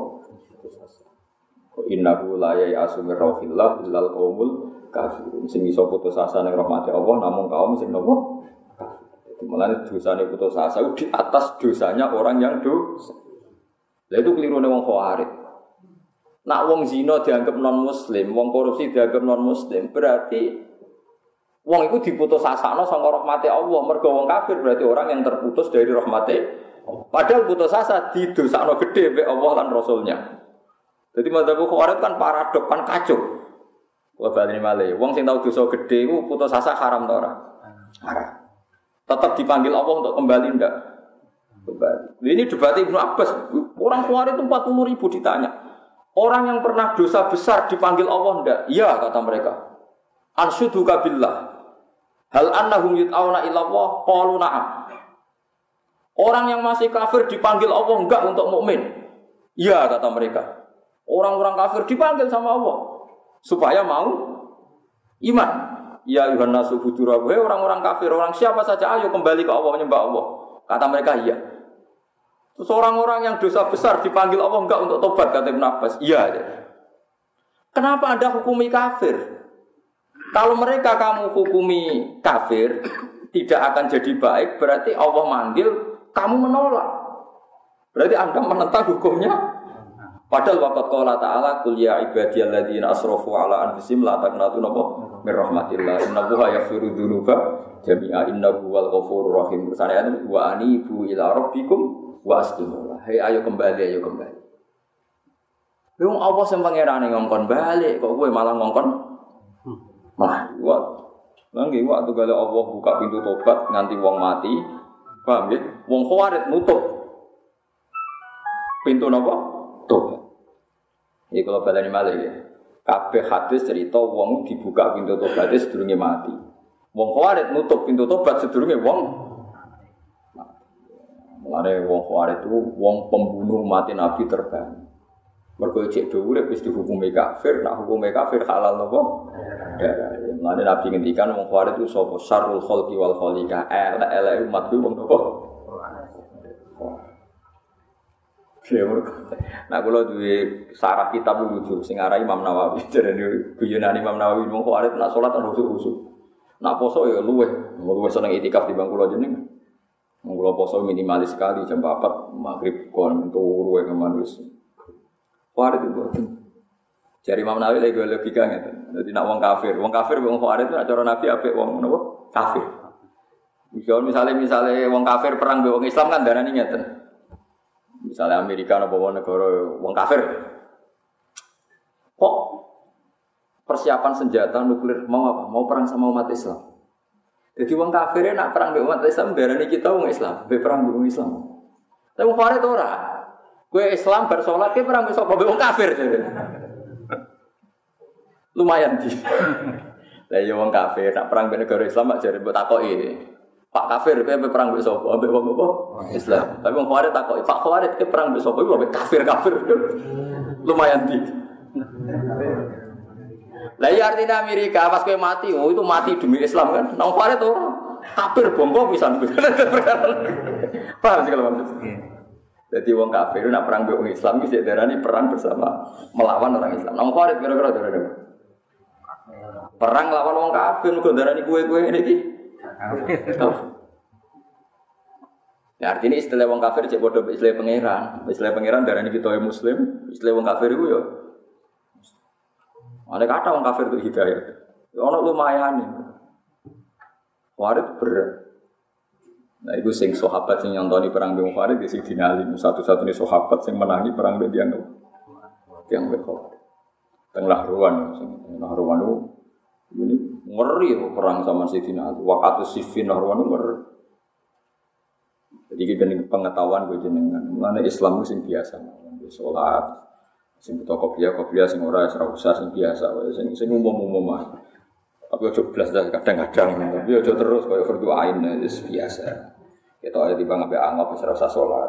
innahu la ya'asu min rauhillah illal qaumul kafirun. Sing iso putus asa ning rahmate Allah namung kaum sing napa kafir. Mulane dosane putus asa di atas dosanya orang yang dosa. Lah itu kelirune wong khawarij. Nak wong zina dianggap non muslim, wong korupsi dianggap non muslim, berarti wong iku diputus asakno saka rahmate Allah. Mergo wong kafir berarti orang yang terputus dari rahmate. Padahal putus asa didosakno gede mbek Allah lan Rasulnya. Jadi madzhab Khawarij kan paradok, kan kacau. Wa bali malih. Wong sing tau dosa gede iku putus asa haram ta ora? Haram. Tetap dipanggil Allah untuk kembali ndak? Kembali. Ini debat Ibnu Abbas. Orang Khawarij itu 40.000 ditanya. Orang yang pernah dosa besar dipanggil Allah ndak? Iya kata mereka. Anshuduka billah. Hal annahum yut'auna ila Allah? Qalu na'am. Orang yang masih kafir dipanggil Allah enggak untuk mukmin. Iya kata mereka. Orang-orang kafir dipanggil sama Allah supaya mau iman. Ya ayuhan nasu budurabu. Hei orang-orang kafir, orang siapa saja ayo kembali ke Allah menyembah Allah. Kata mereka iya. Terus orang-orang yang dosa besar dipanggil Allah enggak untuk tobat kata Ibnu Abbas. Iya. Kenapa Anda hukumi kafir? Kalau mereka kamu hukumi kafir tidak akan jadi baik, berarti Allah manggil kamu menolak. Berarti Anda menentang hukumnya. Padahal waqat qala ta'ala qul ya ibadiyalladzina asrafu ala anfusihim la taqnatu min rahmatillah innallaha yaghfiru dzunuba jami'a innahu huwal ghafurur rahim. Tersane wa anibu ila rabbikum wa aslimu. Hei ayo kembali ayo kembali. Wong Allah sing pangerane ngongkon balik kok kowe malah ngongkon. Malah nggih waktu gale Allah buka pintu tobat nganti wong mati. Paham ya? Wong Khawarij nutup pintu napa? Tobat. Iki kalau baleni malih ya. Kabeh hadis cerita wong dibuka pintu tobat sedurunge mati. Wong Khawarij nutup pintu tobat sedurunge wong mati. Mulane wong Khawarij itu wong pembunuh mati Nabi terbaik. Mergo cek dhuwur wis dihukumi kafir, nak hukume kafir halal napa? Darah. Mulane Nabi ngendikan wong Khawarij itu sapa syarrul khalqi wal khaliqa. Elek umat ku wong napa? Nah kula duwe sarah kitab lucu sing aran Imam Nawawi. Jarene guyonan Imam Nawawi mung kok arep nak salat ana khusuk-khusuk. Nak poso ya luweh seneng itikaf di bangku kula jeneng. Mung kula poso minimalis sekali jam 4 maghrib kon turu wae keman wis. Warit itu. Jari Imam Nawawi lagi logika ngeten. Dadi nak wong kafir wong khawarij itu cara Nabi apik wong napa? Kafir. Misalnya wong kafir perang mbek wong Islam kan darani ngeten. Misalnya Amerika atau bawa negara wong kafir, kok persiapan senjata nuklir mau apa? Mau perang sama umat Islam. Jadi wong kafirnya nak perang dengan umat Islam, berani kita wong Islam, perang dengan Islam. Tapi wong kafir itu ora. Kue Islam bersolat, kue perang besok wong kafir. Lumayan di. Lah ya wong kafir nak perang dengan negara Islam mak jare mbok takoki. Pak kafir kowe perang mbek sapa? Mbek wong apa? Islam. Tapi wong kafir takoki, Pak kafir kowe perang mbek sapa? Mbek kafir. Lumayan di. Lah ya artinya Amerika pas kowe mati, itu mati demi Islam kan. Nang kafir to kafir bongko pisan. Paham sih kalau maksud. Jadi wong kafir nak perang mbek wong Islam iki darani perang bersama melawan orang Islam. Nang kafir kira-kira darani perang lawan wong kafir kok darani kowe-kowe ngene iki. Ya artinya istilah wong kafir cek bodoh istilah pangeran. Istilah pangeran darani kita muslim, istilah wong kafir iku ya. Ana kata wong kafir itu hidayah. Ono lumayan. Warid berat. Nah iku sing sahabat sing nyontoni perang Bani Farid di Sidina Ali, satu-satunya sahabat sing menangi perang Bani yang berkor. Tengah ruan itu ini ngeri perang sama Sidina Ali. Waktu Siffin ruan itu ngeri. Jadi kita ini pengetahuan gue jenengan. Mana Islam itu sing biasa, sholat, sing butuh kopiah sing ora usah sing biasa, sing umum mah. Tapi ojo blas kadang-kadang, tapi ojo terus kaya fardu ain wis biasa. Kita aja tiba ngabe anggap wis ora usah salat.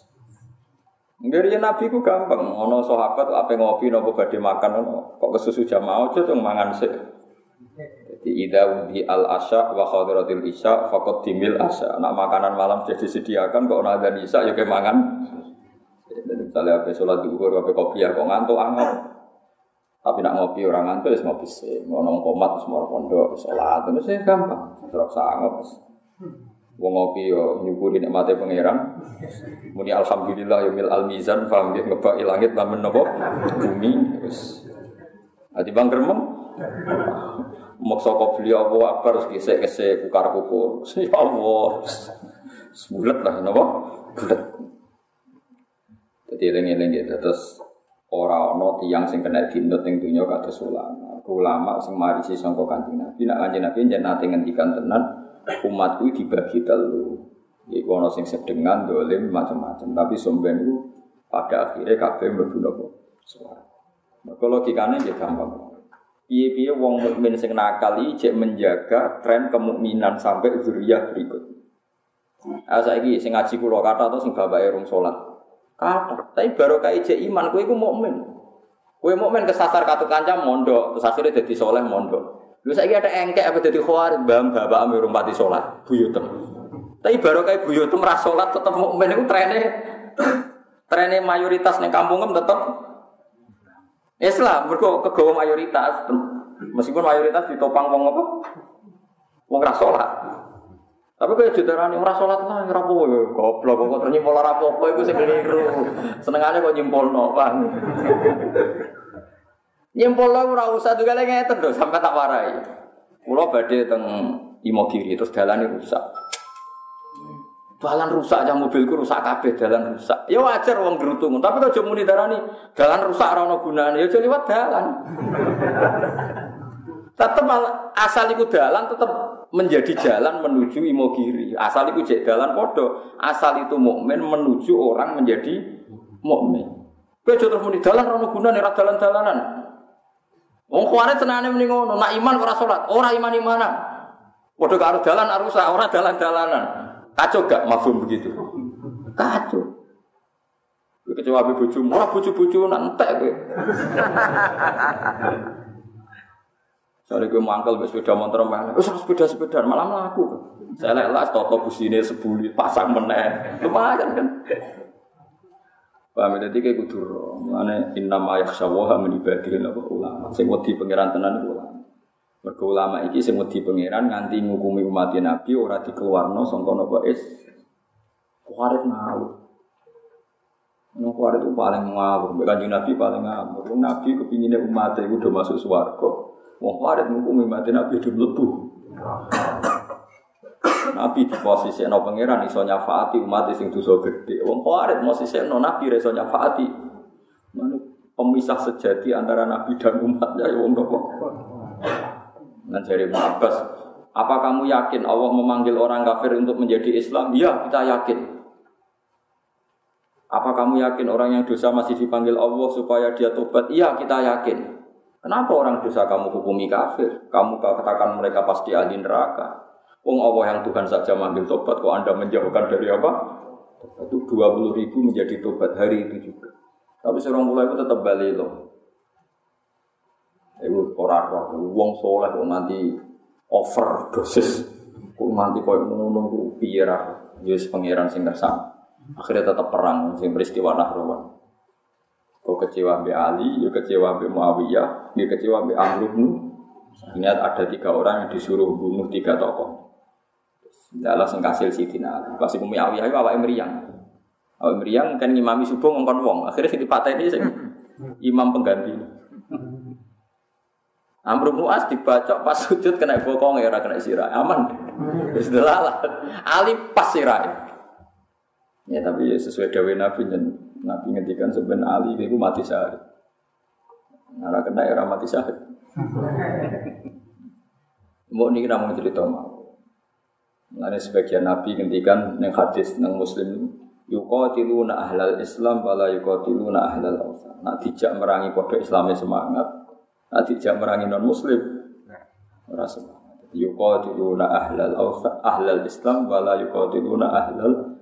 Ngene Nabi ku gampang, ana sahabat ape ngopi napa badhe makan kok kesusu jamaah aja tung mangan sik. Jadi idza wudi al asya wa khadiratil isya faqad dimil asya. Nak makanan malam sudah disediakan kok ana adzan isya ya ke mangan. Misalnya ape salat zuhur ape kopiah kok ngantuk anggap. Tapi nak ngopi orang ngantuk wis ngopi sih, ngono komat semua pondok salat itu gampang. Terus sangat. Wong ngopi yo nyukuri nikmate pangeran. Muni alhamdulillah yaumil almizan paham nggih ngebaki langit lamun napa bumi wis. Ati bang gremeng. Maksa kok beliau apa akbar gesek-gesek kukar-kukur. Ya Allah. Bulet lah napa? Bulet. Dadi eling-eling gitu terus ora ana tiyang sing kena dinut ning donya kados ulama sing marisi sangka Kanjeng Nabi. Nek Kanjeng Nabi njen nate ngendikan tenan umatku dibagi telu. Iku ana sing sedengan dolim macam-macam, tapi somben iku pada akhirnya kabeh mlebu napa? Swarga. Maka logikane nggih gampang. Piye-piye wong mukmin sing nakal iki menjaga tren kemukminan sampai zuriyah berikut. Saiki sing ngaji kula kata to sing bapake rung salat. Kata, tapi barokah ijek iman kowe iku mukmin. Kowe mukmin kesasar katut kancam mondok, terus akhirnya dadi saleh mondok. Lha saiki ada engkek apa dadi khawarij, mbah bapakmu urung pati salat, buyutem. Tapi barokah buyutem ra salat tetep mukmin iku trene mayoritas ning kampungem tetep Islam, mergo kegawa mayoritas. Meskipun mayoritas ditopang wong apa? Wong ra salat. Tapi kaya judarane ora salat lah ora apa-apa ya goblok kok terus nyimpul ora apa-apa iku sing keliru. Senengane kok nyimpulno, Bang. Nyimpulno ora usah tugale ngeten lho sampe tak warai. Kula badhe teng Imogiri terus dalane rusak. Dalan rusak aja mobilku rusak kabeh dalan rusak. Ya wajar wong gerutung, tapi aja muni darani dalan rusak ora ono gunane ya aja liwat dalan. Tetep asal iku dalan tetep menjadi jalan menuju Imogiri. Asal itu jek dalan podo. Asal itu mukmin menuju orang menjadi mukmin. Kowe aja terus muni dalan ora gunane ora dalan-dalanan. Wong khawarij senane muni ngono, nak iman ora salat, ora iman-imanan. Padha karo dalan rusak, ora dalan-dalanan. Kacau gak mafhum begitu? Kacau. Kowe kecewa be bojomu, ora bojo-bojo entek kowe. Soale kowe mangkel wis sepeda motor meneh. Wis sepeda-sepedaan malah mlaku. Saya lek toto busine sebuli pasang meneh. Lumayan kan. Paham dadi kayak kudu mane innama yakhshawaha min ibadihi ulama. Sing wedi pangeran tenan iku ulama. Mergo ulama iki sing wedi pangeran nganti ngukumi umat Nabi ora dikeluarno sangka napa kuarit ngawur. Kuarit itu paling ngawur, Kanjeng Nabi paling ngawur. Nabi kepingine umat iku do masuk swarga. Wong kuarit ngukumi umat Nabi do mlebu. Nabi di posisi no pangeran iso nyafaati umat sing dosa gedhe. Wong kuarit posisi no Nabi iso nyafaati. Pemisah sejati antara Nabi dan umatnya ya wong nopo. Nah dari Ibnu Abbas, apa kamu yakin Allah memanggil orang kafir untuk menjadi Islam? Iya, kita yakin. Apa kamu yakin orang yang dosa masih dipanggil Allah supaya dia tobat? Iya, kita yakin. Kenapa orang dosa kamu hukumi kafir? Kamu katakan mereka pasti ahli neraka. Wong Allah yang Tuhan saja manggil tobat, kok Anda menjauhkan dari apa? Itu 20.000 menjadi tobat hari itu juga. Tapi seorang mulai itu tetap balik loh. Itu orang wong soleh kok nanti overdosis, kok nanti kau ngono piye ra, wis pangeran sing kersane. Akhirnya tetap perang sing peristiwa Nahrawan. Kau kecewa be Ali, ya kecewa be Muawiyah, dia kecewa be Amr bin. Ingat ada 3 orang yang disuruh bunuh 3 tokoh. Dalah sing kasil Sidina Ali. Pas iku Muawiyah iku awake mriyang. Awake mriyang kan ngimami subuh ngongkon wong. Akhirnya sing dipateni sing imam pengganti. Amr bin As dibacok pas sujud kena bokong ya ora kena sirah. Aman. Wis delalah. Ali pas sirah. Ya tapi sesuai dawuh Nabi Nabi ngendikan sebenarnya Ali itu mati syahid. Ora kena ora mati syahid. Mbok niki namung cerita mau. Mulane sebagian Nabi ngendikan ning hadis nang Muslim yuqatiluna ahlal Islam wala yuqatiluna ahlal awsan. Nek dijak merangi padha Islame semangat, nek dijak merangi non Muslim ora semangat. Yuqatiluna ahlal awsan, ahlal Islam wala yuqatiluna ahlal.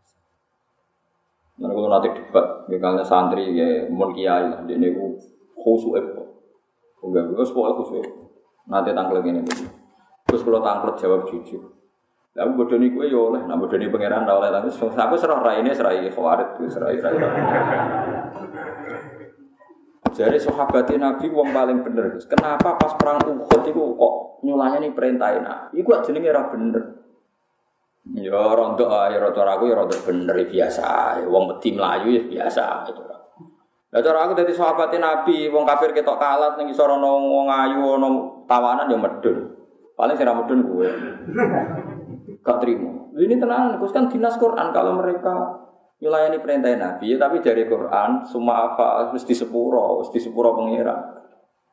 Nah, kalau nanti debat, misalnya santri ya mun kiai lah, dia ni khusyuk apa? Enggak, pokoknya khusyuk. Nanti tangklet ini, terus kalau tangklet jawab jujur. Lalu bodoh ni kue yo lah, nak bodoh ni pangeran dah oleh tapi aku serah rai ini serai khawarit, serai. Jadi sahabat Nabi wong paling bener. Kenapa pas perang Uhud itu kok nyulahnya ni perintahin? Iku jenenge ora bener. Ya rontok ya cara aku ya rontok bener biasa. Wong wedi mlayu ya biasa itu. Lah cara aku dadi sahabat Nabi, wong kafir ketok kalat ning isor ana wong ayu ana tawanan ya medun. Paling sing ra medun kowe. Gak trimo. Ini tenang, Gus kan dinas Quran kalau mereka nyulayani perintah Nabi, ya, tapi dari Quran semua apa mesti sepuro pengira.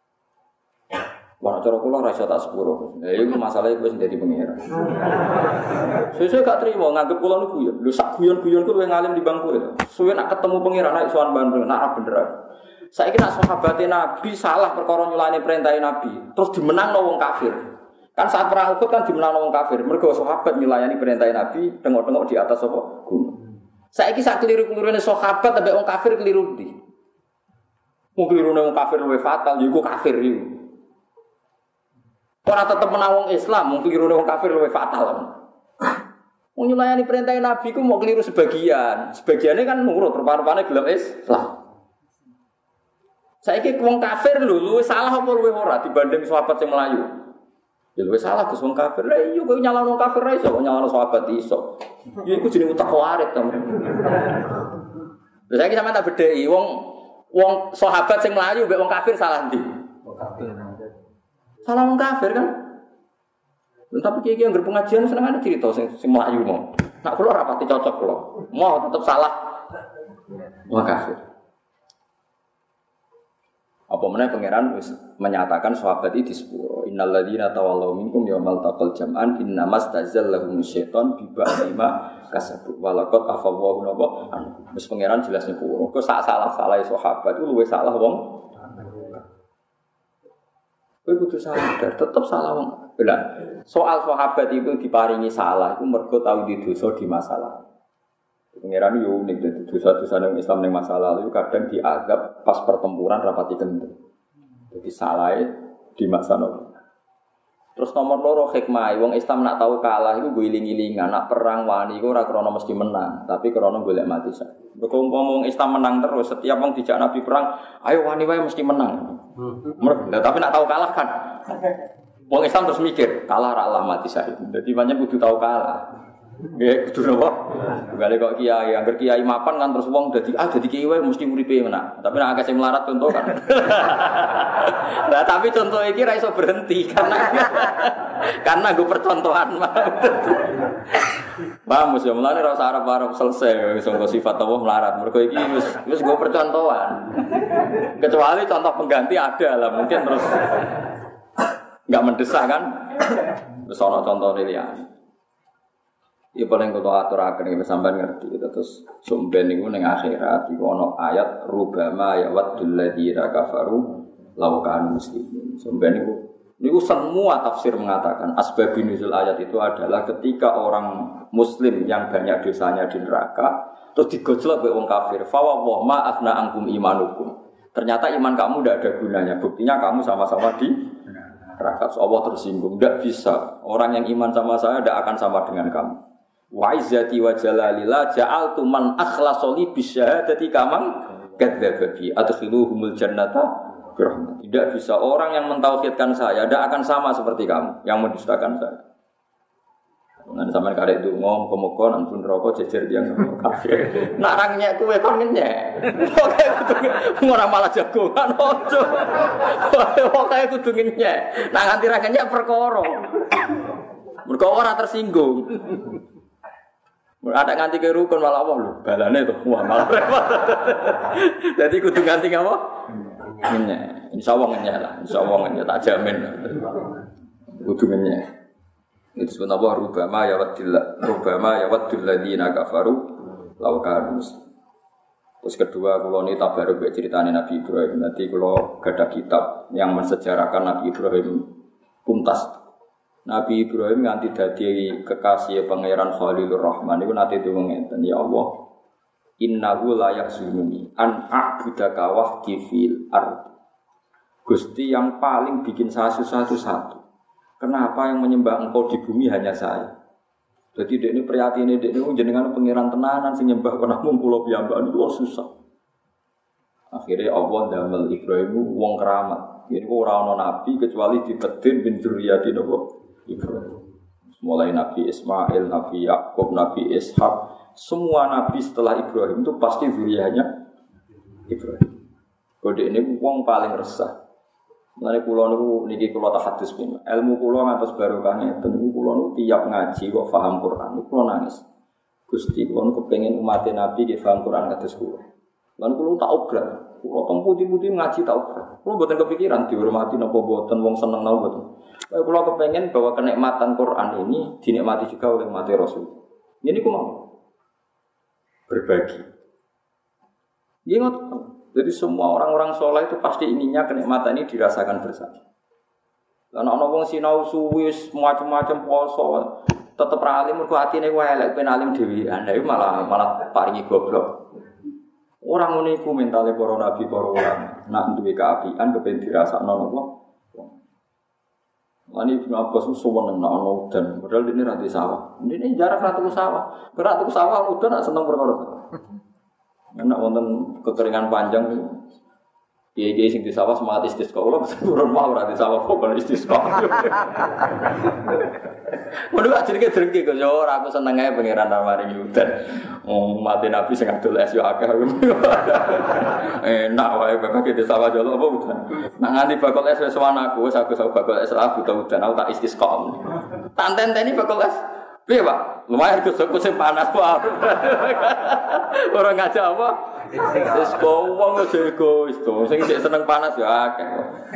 Wah, cara kula ora iso tak sepuro. Ya iku masalahe wis dadi pengira. Sesuk gak trimo nganggep kula niku ya. Lho sak guyon-guyon ku luwih ngalim di bangku itu. Suwe nak ketemu pengira nek sowan Bandung, nak bener. Saiki nak sahabat Nabi salah perkara nyulayani perintah Nabi, terus dimenangno wong kafir. Kan saat perang Uhud kan dimenangno wong kafir. Mergo sahabat nyulayani perintah Nabi tengok-tengok di atas apa? Gunung. Saiki sak keliru-kelirune sahabat ambek wong kafir keliru ndi? Wong kelirune wong kafir luwih fatal, ya iku kafir iku. Ora tetep menawang Islam, wong kelirune wong kafir luwih fatal. Wong nyulayani perintah Nabi ku mau keliru sebagian. Sebagiannya kan nurut, rupa-rupane gelem Islam. Saiki wong kafir lho luwih salah apa luwih ora dibanding sahabat sing Melayu? Ya luwih salah Gus wong kafir. Lah iya kok nyalahno wong kafir ra iso, kok nyalahno sahabat iso. Ya iku jenenge utak warit to. Lha saiki sampeyan tak bedheki wong sahabat sing Melayu mbek wong kafir salah ndi? Wong kafir. Salah wong kafir kan? Tapi kiai yang berpengajian senengane cerita sing Melayu mau. Nak kula ora pati cocok kula. Mau tetep salah wong kafir. Apa meneh pangeran wis menyatakan sahabat iki disepuro. Innal ladzina tawallaw minkum yaumal taqal jam'an innamas tazallahum syaiton bi ba'dima kasabu walaqad afawwahu napa. Wis pangeran jelas nyepuro. Kok sak salah-salahe sahabat iku luwih salah wong. Kowe kudu sadar, tetep salah wong. Lah, soal sahabat itu diparingi salah iku mergo tau di dosa di masalah. Pengiran yo unik dadi dosa-dosa nang Islam ning masa lalu kadang diazab pas pertempuran rapati kendel. Jadi salahnya di masa lalu. Terus nomor loro hikmah, wong Islam nak tahu kalah iku guling-gilingan, nak perang wani iku ora krana mesti menang, tapi krana golek mati sak. Mergo umpama wong Islam menang terus, setiap wong dijak Nabi perang, ayo wani wae mesti menang. Nah, tapi nak tahu kalah kan. Wong Islam terus mikir, kalah ra Allah mati syahid. Dadi pancen kudu tahu kalah. Nggih, kudu napa? Gale kok kiai, angger kiai mapan kan terus wong dadi kiai wae mesti uripe menang. Tapi nek akeh sing melarat contoh kan. Nah, tapi contoh iki ra iso berhenti karena gue percontohan. Paham ya, mulane ora usah arep-arep selesai wis sifat Allah melarat. Mergo iki wis gue percontohan. Kecuali contoh pengganti ada lah, mungkin terus enggak mendesak kan. Wis ana contoh liyane. Ya paling kudu aturaken iki sampean ngerti terus sumben niku ning akhirat iku ana ayat rubama ya waddul ladzina kafaru law kanu muslimin. Sumben niku semua tafsir mengatakan asbabun nuzul ayat itu adalah ketika orang muslim yang banyak dosanya di neraka terus digojlok oleh wong kafir fa wa ma akhna angkum imanukum. Ternyata iman kamu tidak ada gunanya. Buktinya kamu sama-sama di neraka. Allah tersinggung. Tidak bisa. Orang yang iman sama saya tidak akan sama dengan kamu. Wa izzati wa jalalillah ja'altu man akhlasoli bisyahadati kamang kadzababi adkhiluhumul jannata birahmat. Tidak bisa orang yang mentauhidkan saya tidak akan sama seperti kamu yang mendustakan saya. Nang sampean karek donga muga-muga nang pun neraka jejer tiyang kafir. Nak ra nyek kowe kon ngenyek. Pokoke ora malah jagongan ojo. Pokoke kudu ngenyek. Nak nganti ra ngenyek perkara. Mergo ora tersinggung. Ada nganti ke rukun malah Allah lho, balane to. Wah, malah repot. Jadi kudu nganti apa? Ngenyek. Insyaallah ngenyek lah. Insyaallah ngenyek tak jamin. Kudu ngenyek. Itu sebenarnya rubama ya waddul ladzina kafaru law kanu. Terus kedua kula ni tabaruk ceritane Nabi Ibrahim. Nanti kula gadah kitab yang mensejarahkan Nabi Ibrahim tuntas. Nabi Ibrahim nganti dadi kekasih pangeran Khalilur Rahman iku nate donga ngeten, ya Allah, innahu la yahzununi an a'budaka wahdi fil ardh. Gusti yang paling bikin saya susah itu satu. Kenapa yang menyembah engkau di bumi hanya saya? Jadi dek ini prihatine dek ini jenengan pangeran tenanan sing nyembah kena mung kula piyambak niku susah. Akhirnya Allah damel Ibrahim wong keramat. Jadi ora ana nabi kecuali dipedhin bin dzurriyyati Ibrahim. Mulai Nabi Ismail, Nabi Yakub, Nabi Ishak, semua nabi setelah Ibrahim itu pasti dzurriyyahnya Ibrahim. Kode ini wong paling resah. Mulane kula niku niki kula tahadus pin. Ilmu kula ngantos barokah ngeten niku kula niku tiap ngaji kok paham Quran niku kula nangis. Gusti kula niku kepengin umat Nabi nggih paham Quran kados kula. Lan kula tak obrak. Kula teng putih-putih ngaji tak obrak. Kula mboten kepikiran dihormati napa mboten wong seneng napa mboten. Kula kepengin bahwa kenikmatan Quran ini dinikmati juga oleh umat Rasul. Ini ku mau berbagi. Nggih ngoten. Jadi semua orang-orang soleh itu pasti inginnya kenikmatan ini dirasakan bersama. Karena ana wong sinau suwi macam-macam poso tetep ra alim mergo atine wae elek ben alim dhewean. Lah malah paringi goblok. Orang ngene iku mentale para nabi para ulama. Nak duwe kaapian kepen dirasakno napa? Mani Ibnu Abbas suwen nang ana udan, padahal dene ra di sawah. Dene jarak ra tuku sawah. Gerak tuku sawah udan nak seneng perkara. Enak wonten kekeringan panjang niku. Kiai-kiai sing di sawah semangat istisqa. Kula turun mau ora di sawah kok istisqa. Ngono gak jerenge-jerenge kok yo ora aku seneng ae pangeran maringi udan. Mati Nabi sing adol es yo akeh. Enak wae bapak di sawah jolo apa udan. Nak nganti bakul es wis aku wis aku bakul es lah buta udan aku tak istisqa. Tak tenteni bakul es. Piye, Pak? Lumayan kusuk-kusuk panas, Pak. Ora ngajak apa? Wis kok wong egois to. Sing seneng panas ya akeh.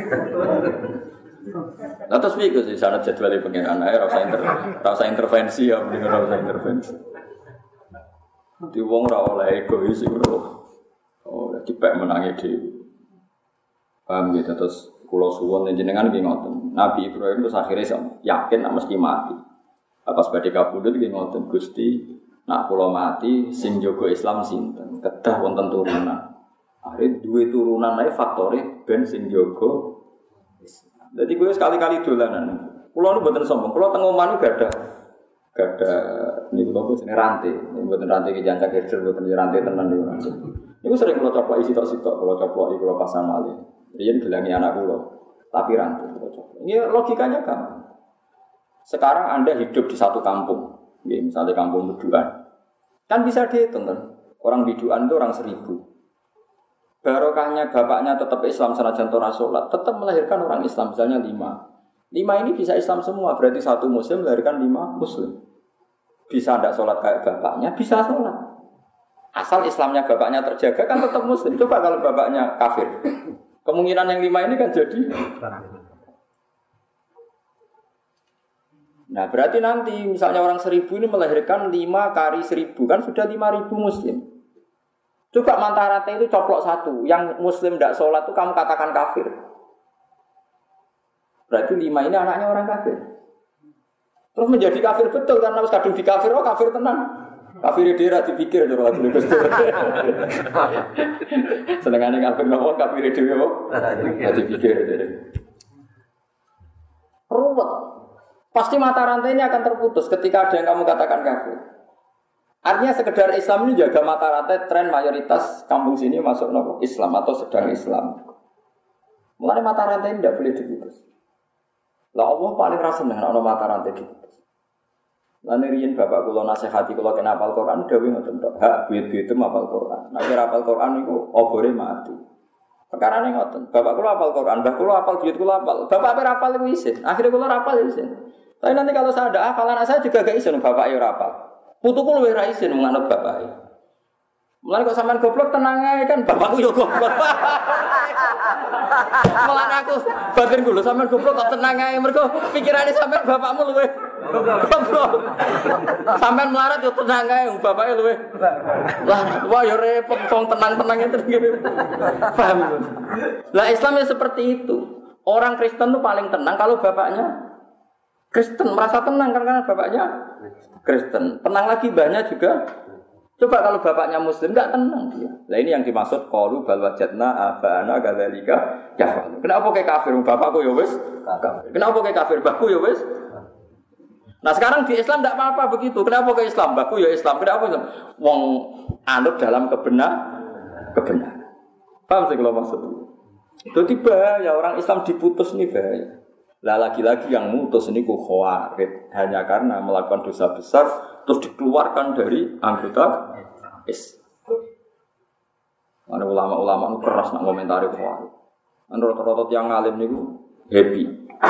Lah terus piye sih sanad jadwale pengen ae ora usah intervensi ya, mending ora usah intervensi. Di wong ora oleh egois iku. Oh, dipek menangi dhewe. Paham gitu terus kula suwun jenengan nggih ngoten. Nabi Ibrahim terus akhire yakin nek mesti mati. Pas badhe kabudut nggih ngoten Gusti, nak kula mati sing jaga Islam sinten? Kedah wonten turunan. Are duwe turunan ae faktore ben sing jaga Islam. Dadi kowe sekali-kali dolanan. Kulo nu mboten sombong, kulo teng omah niku gak ada niku lho jenenge rantai. Niku mboten rantai ki jancak herder mboten rantai tenan niku rantai. Niku sering kulo coplok isi tok-sitok, kulo coplok kulo pasang malih. Riyen gelangi anak kulo, tapi rantai kulo coplok. Ini logikanya gampang. Sekarang Anda hidup di satu kampung, ya, misalnya kampung Biduan, kan bisa dihitung kan? Orang Biduan itu orang 1000. Barokahnya bapaknya tetap Islam senajan ora salat, tetap melahirkan orang Islam misalnya 5. 5 ini bisa Islam semua, berarti satu Muslim melahirkan 5 Muslim. Bisa tidak sholat kayak bapaknya, bisa sholat. Asal Islamnya bapaknya terjaga kan tetap Muslim. Coba kalau bapaknya kafir, kemungkinan yang 5 ini kan jadi. Nah berarti nanti misalnya orang 1000 ini melahirkan 5 kali 1000, kan sudah 5000 Muslim. Coba mantarate itu coplok satu, yang Muslim tidak sholat itu kamu katakan kafir. Berarti 5 ini anaknya orang kafir. Terus menjadi kafir betul karena harus kadung di kafir, kafir tenang. Kafir dhewe dipikir karo Abdul Gus. Senengane kafir nopo kafir dhewe kok. Dipikir. Ruwet. Pasti mata rantai ini akan terputus ketika ada yang kamu katakan kafir. Artinya sekedar Islam ini jaga mata rantai tren mayoritas kampung sini masuk nopo Islam atau sedang Islam. Mulai mata rantai ini tidak boleh diputus. Lah Allah paling rasa dengan ana mata rantai diputus. Lan riyen bapak kula nasihati kula kena hafal Quran dawuh ngoten tok. Hak duit-duit hafal Quran. Nek ora hafal Quran niku obore mati. Perkarane ngoten. Bapak kula hafal Quran, mbah kula hafal duit kula hafal. Bapak ape hafal iku isin. Akhire kula hafal isin. Tapi nanti kalau saya ada hafalan saya juga gak isin bapak yo hafal. Putuku luwih ra isin menganut bapak. Mulane kok sampean goblok tenang ae kan bapakku yo goblok. Mulane aku batin kula sampean goblok kok tenang ae mergo pikirane sampean bapakmu luwih goblok. Sampean melarat yo tenang ae bapake luwih. Wah yo repot wong tenang-tenang itu ngene. Paham? Lah Islam ya seperti itu. Orang Kristen tuh paling tenang kalau bapaknya Kristen, merasa tenang karena bapaknya Kristen. Tenang lagi banyak juga. Coba kalau bapaknya Muslim enggak tenang dia. Nah ini yang dimaksud qalu bal wajadna abana kadzalika yaf'al. Kenapa kayak kafir bapakku ya wis kafir. Kenapa kayak kafir mbahku ya wis. Nah sekarang di Islam enggak apa-apa begitu. Kenapa kayak Islam mbahku ya Islam. Kenapa Islam? Wong anut dalam kebenaran. Paham sih kalau maksud itu? Jadi bahaya orang Islam diputus ini bahaya. Lah lagi-lagi yang mutus ini khawarid hanya karena melakukan dosa besar terus dikeluarkan dari anggota Islam. Ada ulama-ulama itu keras nak komentari khawarid. Rata-rata yang ngalim niku happy.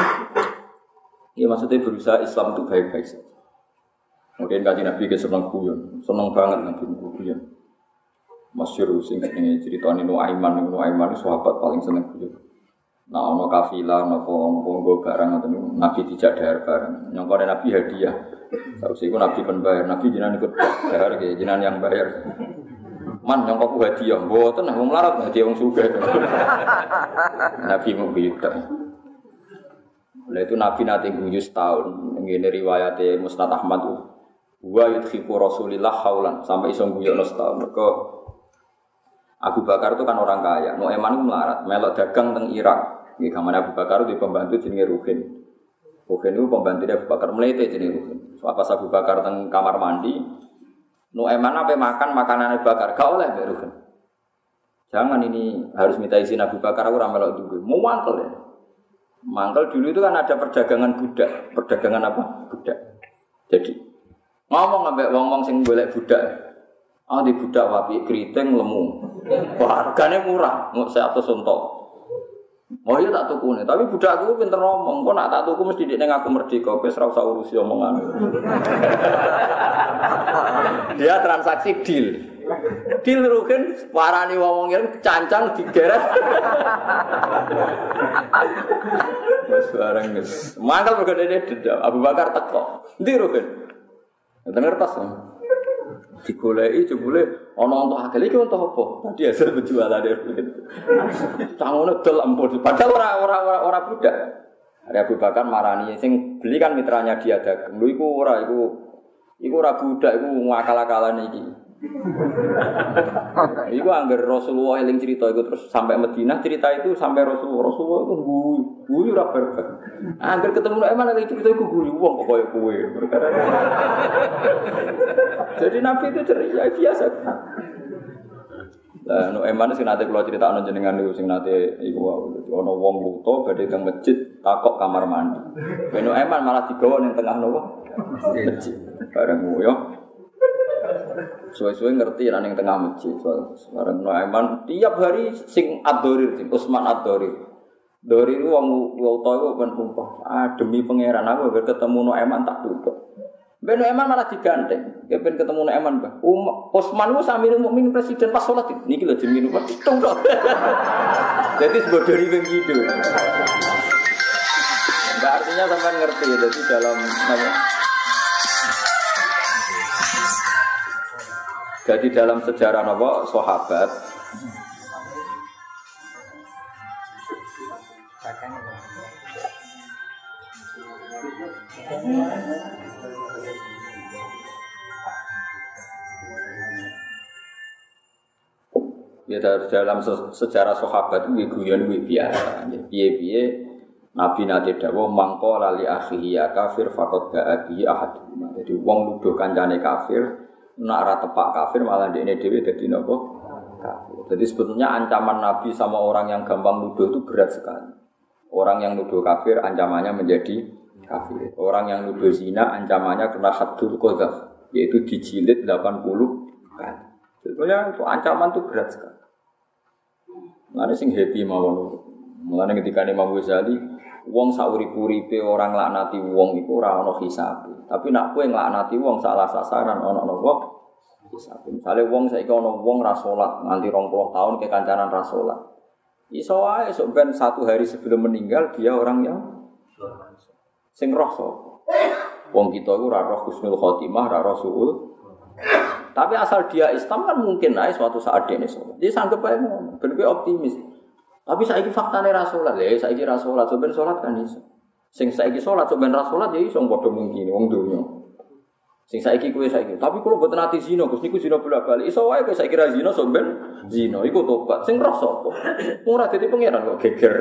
Ya maksudnya berusaha Islam itu baik-baik saja. Kemudian kaji Nabi ke seneng guyon, seneng banget Nabi guyon. Masyhur sing jenenge critane Nuaiman itu sahabat paling seneng guyon. Nah, ono kafilah, ono nggo barang ngoten Nabi dijak dahar barang. Nyongkone Nabi hadiah. Sausé iku Nabi pen bayar, Nabi jenengan ikut dahar nggih, jenengan yang bayar. Man nyongkokku hadiah, mboten wong melarat hadiah wong sugih. Nabi mau gitu. Lah itu Nabi nate guyu setahun. Ngene riwayate Musnad Ahmad. Wa yudhiku Rasulillah haulan sampai iso guyu setahun. Mergo Abu Bakar itu kan orang kaya. Nuaiman itu melarat, melok dagang teng Irak. Di kamar Abu Bakar itu pembantu jenenge Ruhin. Ruhin itu pembantu Abu Bakar melete jenenge Ruhin. Pas Abu Bakar teng kamar mandi, Nuaiman apa makan makanan Abu Bakar, gak oleh mbek Ruhin. Jangan ini harus minta izin Abu Bakar aku ora melok duwe. Mau mangkel ya. Mangkel dulu itu kan ada perdagangan budak. Perdagangan apa? Budak. Jadi ngomong ambek wong-wong sing golek budak. Di budak wapi keriting lemu. Wah, harganya murah, mau 100 untok. Oh iya tak tuku nih, tapi budakku pinter ngomong. Kok nak tak tuku mesti dia ngaku merdeka, wis ora usah urusi omongan. Dia transaksi deal. Deal rugen parani wong ngene cancang digeret. Wes bareng wis. Mangkel begone dendam. Abu Bakar teko. Ndi rugen? Ngeten ngertos. Digoleki jebule ana untuk akeh iki untuk apa? Tadi hasil penjualan dia. Cangone dol ampun. Padahal ora budak. Ada Abu Bakar marani sing beli kan mitranya dia dagang. Lho iku ora budak iku ngakal-akalan iki. Iku anggar Rasulullah eling cerita iku terus sampai Madinah cerita itu sampai Rasulullah itu guyu ora berkah. Anggar ketemu Eman eling cerita iku guyu wong kok koyo kowe. Jadi Nabi itu ceria biasa. Lah Eman sing nate kula critakno jenengan niku sing nate iku ana wong buta badhe teng masjid takok kamar mandi. Ben Eman malah digawa ning tengah napa? Masjid. Bareng yo. Suwe-suwe ngerti nek ning tengah masjid. Bareng Eman tiap hari sing Ad-Dorir, Utsman Ad-Dorir. Dorir wong buta iku ben sumpah. Demi pangeran aku ketemu Eman tak tutup. Ben Eman malah digandeng. Ya ben ketemu Eman, Mbah. Utsman ku Samirul Mukminin presiden pas salat niki lho jenenge napa? Tung tok. Jadi sebodori wing gitu. Enggak artinya sampean ngerti ya jadi dalam apa? Jadi dalam sejarah apa sahabat ya dalam sejarah sahabat itu guyon biasa. Piye-piye Nabi nate dawuh mangko lali akhihi ya kafir faqad ba'abi ahad. Jadi wong nuduh kancane kafir, nek ora tepak kafir malah ndekne dhewe dadi napa? Kafir. Jadi sebetulnya ancaman Nabi sama orang yang gampang nuduh itu berat sekali. Orang yang nuduh kafir ancamannya menjadi kafir. Orang yang nuduh zina ancamannya kena haddul qadzaf, yaitu dijilid 80 kali. Sebetulnya itu ancaman itu berat sekali. Mulane sing happy mawon. Mulane ketika Imam Ghazali, wong saurip-uripe orang laknati wong iku ora ana hisabe. Tapi nek kowe nglaknati wong salah sasaran ana napa? Hisabe. Misale wong saiki ana wong ra salat nganti 20 tahun kekancanan ra salat. Iso wae sok ben 1 hari sebelum meninggal dia orang yang sing roh sapa. Wong kita iku ora roh husnul khotimah, ora roh suul. Tapi asal dia Islam kan mungkin ae suatu saat dene salat. Dia sanggep ae ngono, ben kowe optimis. Tapi saiki faktane ra salat, lha saiki ra salat, sampeyan salat kan iso. Sing saiki salat sampeyan ra salat ya iso padha mungkin wong donya. Sing saiki kowe saiki, tapi kula mboten ati zina, Gus niku zina bolak-balik. Iso wae kowe saiki ra zina sampeyan zina, iku tobat. Sing roh sapa? Ora dadi pangeran kok geger.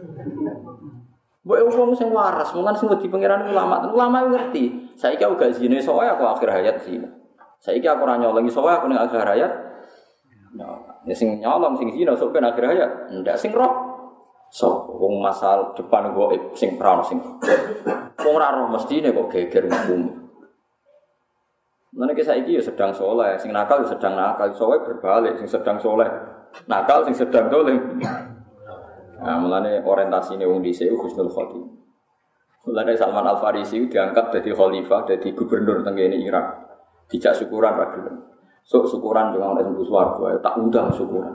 Mbok wong sing waras, mungkin sing wedi pangeran ulama ngerti. Saiki aku gak zina, iso wae aku akhir hayat zina. Saiki aku ora nyolong iso wae aku ning akhir hayat. Ya sing nyolong sing zina sok ben akhir hayat. Ndak sing roh. So, wong masal depan gaib sing prana sing. Wong ora roh mestine kok geger hukum. Meneh saiki ya sedang saleh, sing nakal ya sedang nakal, iso wae berbalik sing sedang saleh. Nakal sing sedang dolim. Nah, mulane orientasine wong dhisik husnul khotimah. Mulane Salman Al Farisi diangkat dadi khalifah, dadi gubernur teng kene Irak. Dijak syukuran ra gelem. Sok syukuran dengan orang sembuh swarga tak undang syukuran.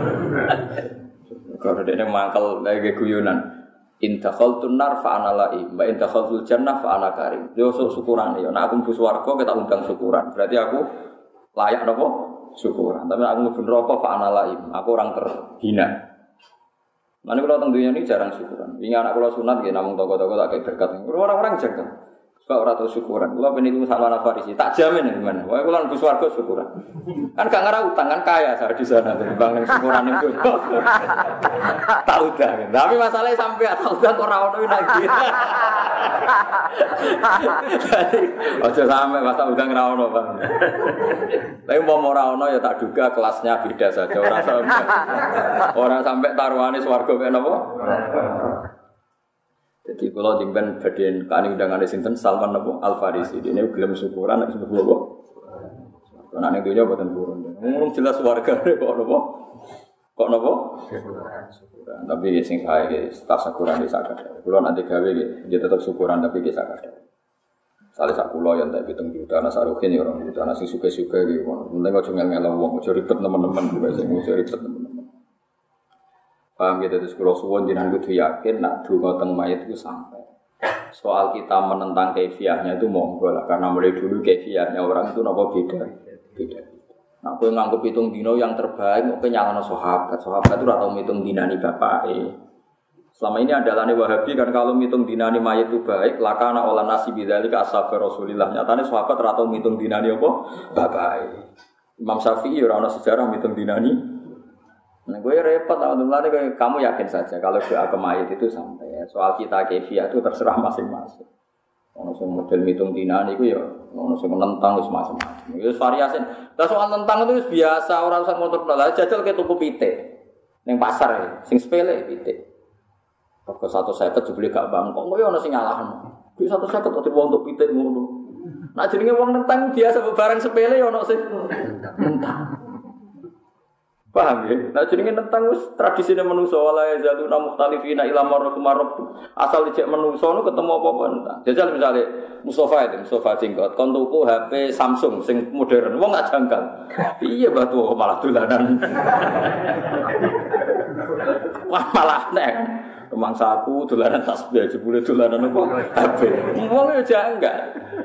Kalau dene mangkel lagi guyonan. In dakhaltun nar fa ana la'i, wa in dakhaltul jannah fa ana karim. Yo sok syukuran yo. Nek aku mlebu swarga kita undang syukuran. Berarti aku layak napa? Syukuran. Tapi nek aku mlebu neraka fa ana la'i, aku orang terhina. Mane kula teng dunya ini jarang syukuran. Wingi anak kula sunat nggih namung toko-toko tak berkat. Orang-orang jaga. Sebab ora tau syukuran. Kula peniku Salman Al-Farisi, tak jamin gimana. Wae kula mlebu swarga syukuran. Kan gak ngara utang kan kaya saya di sana timbang ning syukuran itu. Tak utang. Tapi masalahnya sampai tak utang kok ora ono lagi. Ojo sampe pas tak utang ora ono, Bang. Tapi mau ora ono ya tak duga kelasnya beda saja orang sampai taruhane swarga kaya napa? Jadi kalau jengben bagian kani undangan sinten Salman Al Farisi ini gelem syukuran nek sebab apa? Karena ning dunya boten purun. Ngurung jelas warga kok napa? Kok napa? Syukuran. Tapi sing sae tak syukuran di sakit. Kulo nanti gawe nggih tetep syukuran tapi ki sakit. Sale sak kula yen tak 7 juta ana saruhin ya 2 juta ana sing suke-suke iki. Mending aja ngel-ngel wong, aja ribet teman-teman kuwi sing aja ribet teman-teman. Paham gitu, terus kalau suwon jenengan kudu yakin nak donga teng mayit itu sampai. Soal kita menentang kaifiahnya itu monggo lah, karena mulai dulu kaifiahnya orang itu napa beda. Nah, kowe nganggep hitung dino yang terbaik, kowe nyalano sahabat. Sahabat itu ora tau ngitung dinani bapake. Selama ini andalane Wahabi kan kalau ngitung dinani mayit itu baik, lakana olah nasi bidzalika ashab Rasulillah. Nyatane sahabat ora tau ngitung dinani apa bapake. Imam Syafi'i ora ana sejarah mitung dinani. Nah, gue repot teman-teman, kamu yakin saja kalau doa ke mayit itu sampai. Soal kita kefiah itu terserah masing-masing. Ono sing model mitung dinani iku ya ono sing menentang wis macam-macam. Wis variasi. Lah soal tentang itu wis biasa, ora usah ngotot lah. Jajal ke tuku pitik ning pasar ya, sing sepele pitik. Kok 150 dibeli gak bangkok, kok ya ono sing nyalahno. Duit 150 kok diwong untuk pitik ngono. Nah jenenge wong nentang biasa barang sepele ya ono sing nentang. Paham ya? Nah jenenge nentang wis tradisine manusa wala yazaluna mukhtalifina ila marhum. Asal dicek manusa nu ketemu apa-apa nentang. Jajal misale Mustafa jenggot kon tuku HP Samsung sing modern. Wong gak janggal. Piye batu malah dolanan. Wah malah nek rumangsaku dolanan tasbih jebule dolanan apa HP. Wong yo janggal.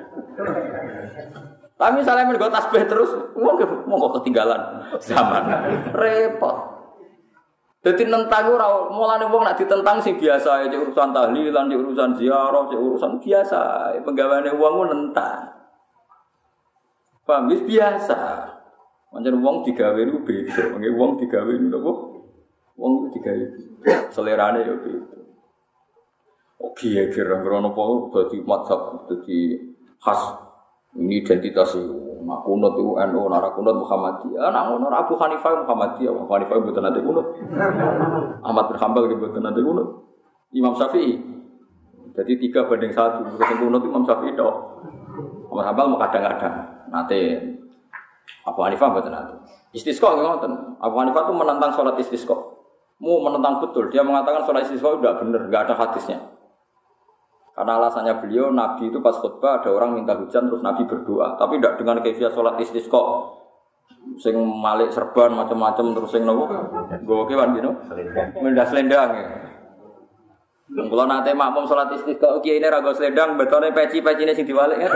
Tapi misalnya mergo tasbih terus, mau ketinggalan zaman. Repot. Dadi nentang ora mulane wong nek ditentang sing biasa ae urusan tahlilan, urusan ziarah, urusan biasa. Penggaweane wong ku nentang. Paham wis biasa. Pancen wong digawe niku beda. Wong digawe niku apa? Wong digawe. Selerane yo beda. Oke, kira-kira apa dadi mazhab dadi khas. Ini identitas itu. Nak kunut itu NU, nak kunut Muhammadiyah. Nak kunut Abu Hanifah Muhammadiyah. Abu Hanifah itu nanti kunut. Ahmad bin Hanbal itu nanti kunut. Imam Syafi'i. Jadi 3-1. Yang kunut Imam Syafi'i itu. Ahmad Hanbal mau kadang-kadang. Nanti Abu Hanifah itu nanti. Istisqa nggak. Abu Hanifah itu menentang sholat istisqa. Mau menentang betul. Dia mengatakan sholat istisqa itu tidak benar. Tidak ada hadisnya. Karena alasannya beliau, Nabi itu pas khutbah ada orang minta hujan terus Nabi berdoa, tapi tidak dengan kaifiah sholat istisqa, sing malik serban macam-macam terus sing nopo, gue kewan gitu, mendah selendang ya. Kalau nanti makmum sholat istisqa, oke ini ragu selendang, betulnya peci-peci ini sing diwalik ya.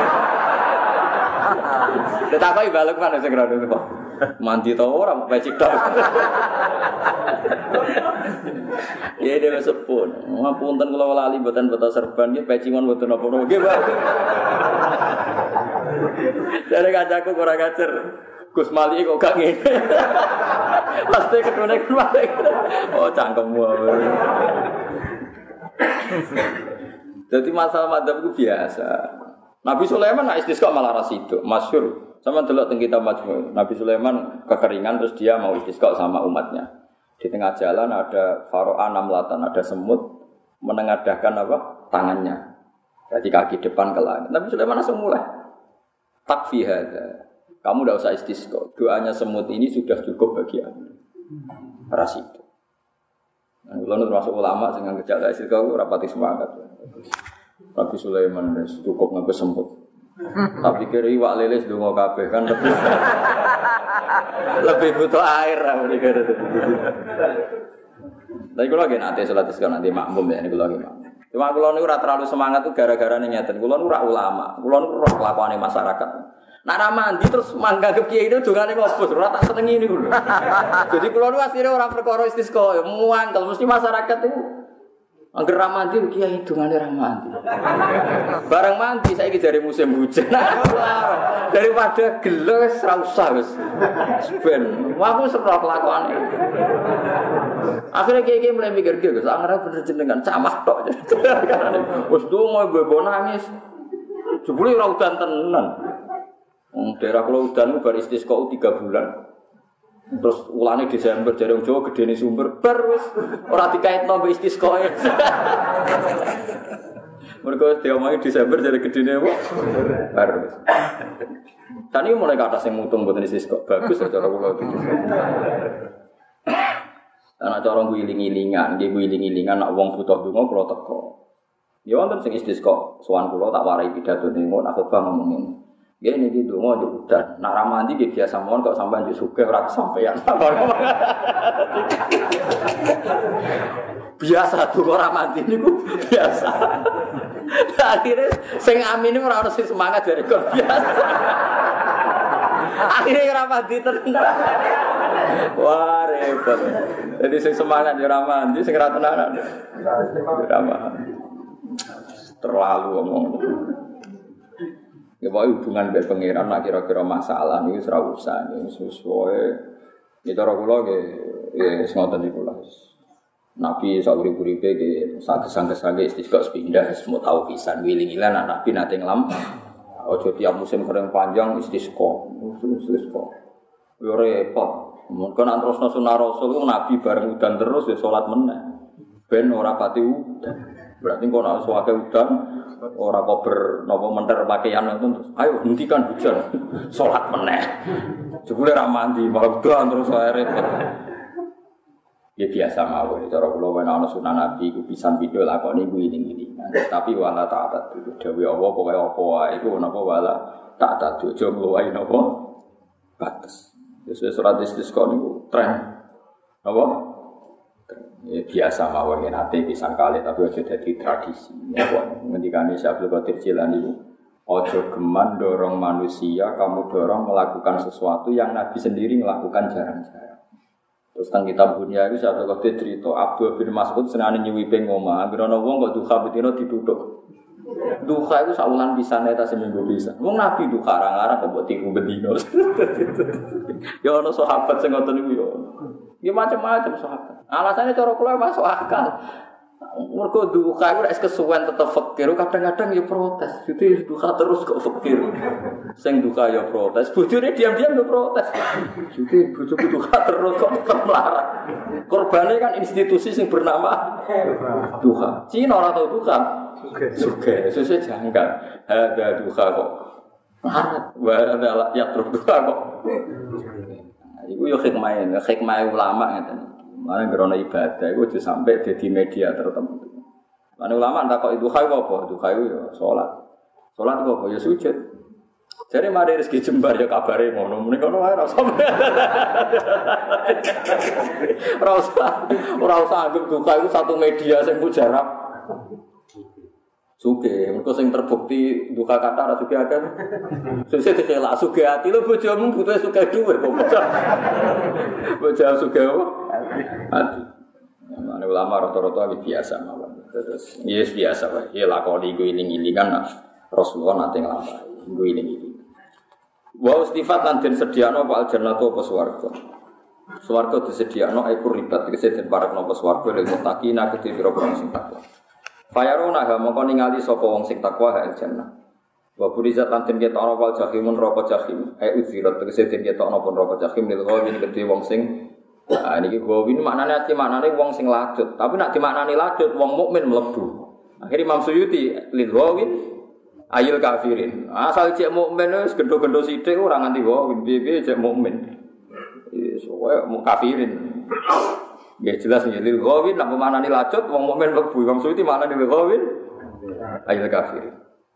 Tetapi balik mana segera dulu kok. Mandi tau orang peci tok. Ya dia sepun. Ngapunten kula lali mboten beto serban nggih peci mon mboten napa-napa nggih, Pak. Jare kancaku kurang ajar. Gus Mali kok gak ngene. Pasti ketune kuwi. Oh cangkemmu. Jadi masalah madzhab itu biasa. Nabi Sulaiman nak istisqa malah rasido, masyhur. Sama delok teng kitab Majmu'. Nabi Sulaiman kekeringan terus dia mau istisqa sama umatnya. Di tengah jalan ada faro'a namlatan, ada semut menengadahkan apa? Tangannya. Jadi kaki depan ke langit. Nabi Sulaiman langsung mulai. Takfi hadza. Kamu tidak usah istisqa. Doanya semut ini sudah cukup bagi Anda. Rasido. Nah, kalau termasuk ulama sing ngejak istisqa rapati semangat. Nabi Sulaiman cukup nganggo semut. Tapi kira iwak lele ndonga kabeh kan lebih butuh air mikir. Tapi kalau lagi nanti salat istisqa nanti makmum ya niku lagi makmum. Cuma kula niku ora terlalu semangat tuh gara-gara nyeten. Kula niku ora ulama. Kula niku roh kelakuane masyarakat. Nek ra mandi terus manggap kiai itu dongane ngobos, ora tak senengi niku lho. Jadi kula niku asline ora perkara istisqa, muangkel mesti masyarakat itu angger ra mandi kiai dongane ra mandi. Barang mandi saiki jare musim hujan. Daripada gelo wis ra usah wis. Ben, aku serah kelakuane. Akhirnya kiai mulai mikir Gus, angger bener jenengan camah tok. Wis donga mbok nangis. Jebule ora udan tenan. Daerah kula udan ku bar istisqa 3 bulan. Terus ulane Desember jare wong Jawa gedene sumber bar wis ora dikaitno mbek istisqa. Mergo diomongi Desember jare gedene apa? Bar wis. Tani mulai ke atas yang mutung mboten istisqa. Bagus cara kula iki. Ana cara guling-gilingan, nggih guling-gilingan nek wong butuh donga kula teko. Ya wonten sing istisqa, sowan kula tak warai pidatone ngono aku bang ngomongin. Ya ini di donga yo udan. Nak ramandi nggih biasa mawon kok sampean yo sugih ora kesampean. Biasa donga ramandi niku biasa. Akhire sing amin ora ono sing semangat dari kok biasa. Akhire ora mandi tenan. Wah repot. Jadi sing semangat yo ora mandi, sing ora tenanan. Ora mandi. Terlalu ngomong. Ya pokoke hubungan mbek pangeran nek kira-kira masalah niku wis ora usah sesuai. Ya cara kula nggih wis ngoten niku lah. Nabi sauri-uripe nggih saged-saged istisqa sepindah semua tahu pisan wiling-wiling Nabi nate nglam. Aja tiap musim kering panjang istisqa. Yo repot. Mungkin nek terusno sunah Rasul Nabi bareng udan terus ya salat meneh. Ben ora pati udan. Berarti kok nek suwake udan ora kober napa menter pakaian terus ayo hentikan hujan. Salat meneh. Jebule ra mandi malah udan terus ae repot. Ya biasa mawon cara kula ana sunah Nabi iku pisan video lakoni kuwi ini. Tapi wala ta'at itu dewe Allah pokoke apa wae iku napa wala ta'at aja ngluwahi napa batas. Wis surat istisqa niku tren. Apa? Ya biasa mawon yen ate pisan kali tapi aja dadi tradisi. Napa ngendikane Syekh Abdul Qadir Jilani niku aja geman dorong manusia, kamu dorong melakukan sesuatu yang Nabi sendiri melakukan jarang-jarang. Terus tentang kitab Bunya itu saya tahu cerita Abdul bin Mas'ud senane nyuwipe ngomah, anggere ana wong kok duha betino dituthuk. Duha itu saulan pisane ta seminggu bisa. Wong Nabi duha arang-arang kok mbok tiku betino. Ya ana sahabat sing ngoten niku ya. Ya macam-macam sahabat. Alasannya cara kula masuk akal. Mergo duha iku nek kesuwen tetep fakir, kadang-kadang ya protes. Jadi duha terus kok fakir. Sing duha ya protes, bojone diam-diam ya protes. Jadi bojoku duha terus kok tetep melarang. Korbane kan institusi sing bernama duha. Cina ora tau duha. Suge, sesuk janggal. Ada duha kok. Wah, ada ya terus duha kok. Iku yo hikmah ulama ngeten. Mana gerono ibadah, itu aja sampai di media tertentu. Mana ulama tak kok itu kayu apa? Itu kayu ya sholat. Sholat itu apa? Ya sujud. Jadi mari rezeki jembar ya kabare ngono. Muni kono wae ora usah anggap duka itu satu media sing mujarab. Suge, mergo sing terbukti duka kata ora suge akeh. Sesuk dikelak suge ati lho bojomu butuh suge dhuwit kok. Bojomu suge apa? Ati. Mane ulama rata-rata iki biasa mawon. Terus yes biasa wae. Ya lakoni iku iling-ilingan Rasulullah nate nglampahi. Iku iling-iling. Wa istifat lan den sediakno apa aljannatu apa swarga. Swarga disediakno iku ribat tegese den parekno apa swarga lek muttaqina kedhe pira-pira sing takwa. Fayarona ha mongko ningali sapa wong sing takwa ha aljannah. Wa burizat lan den ketokno wal jahimun neraka jahim. Uzirat tegese den ketokno pun neraka jahim lil ghawin kedhe wong sing niki ghawin maknane wong sing lacut. Tapi nek dimaknani lacut wong mukmin mlebu. Akhire Imam Suyuti lil ghawin ayil kafirin. Asal cek mukmin wis gendho-gendho sithik ora nganti ghawin piye-piye cek mukmin. Wis wae kafirin. Ya jelas ya lil ghawin nak memanani lacut wong mukmin mlebu wong suci maknane lil ghawin ayil kafir.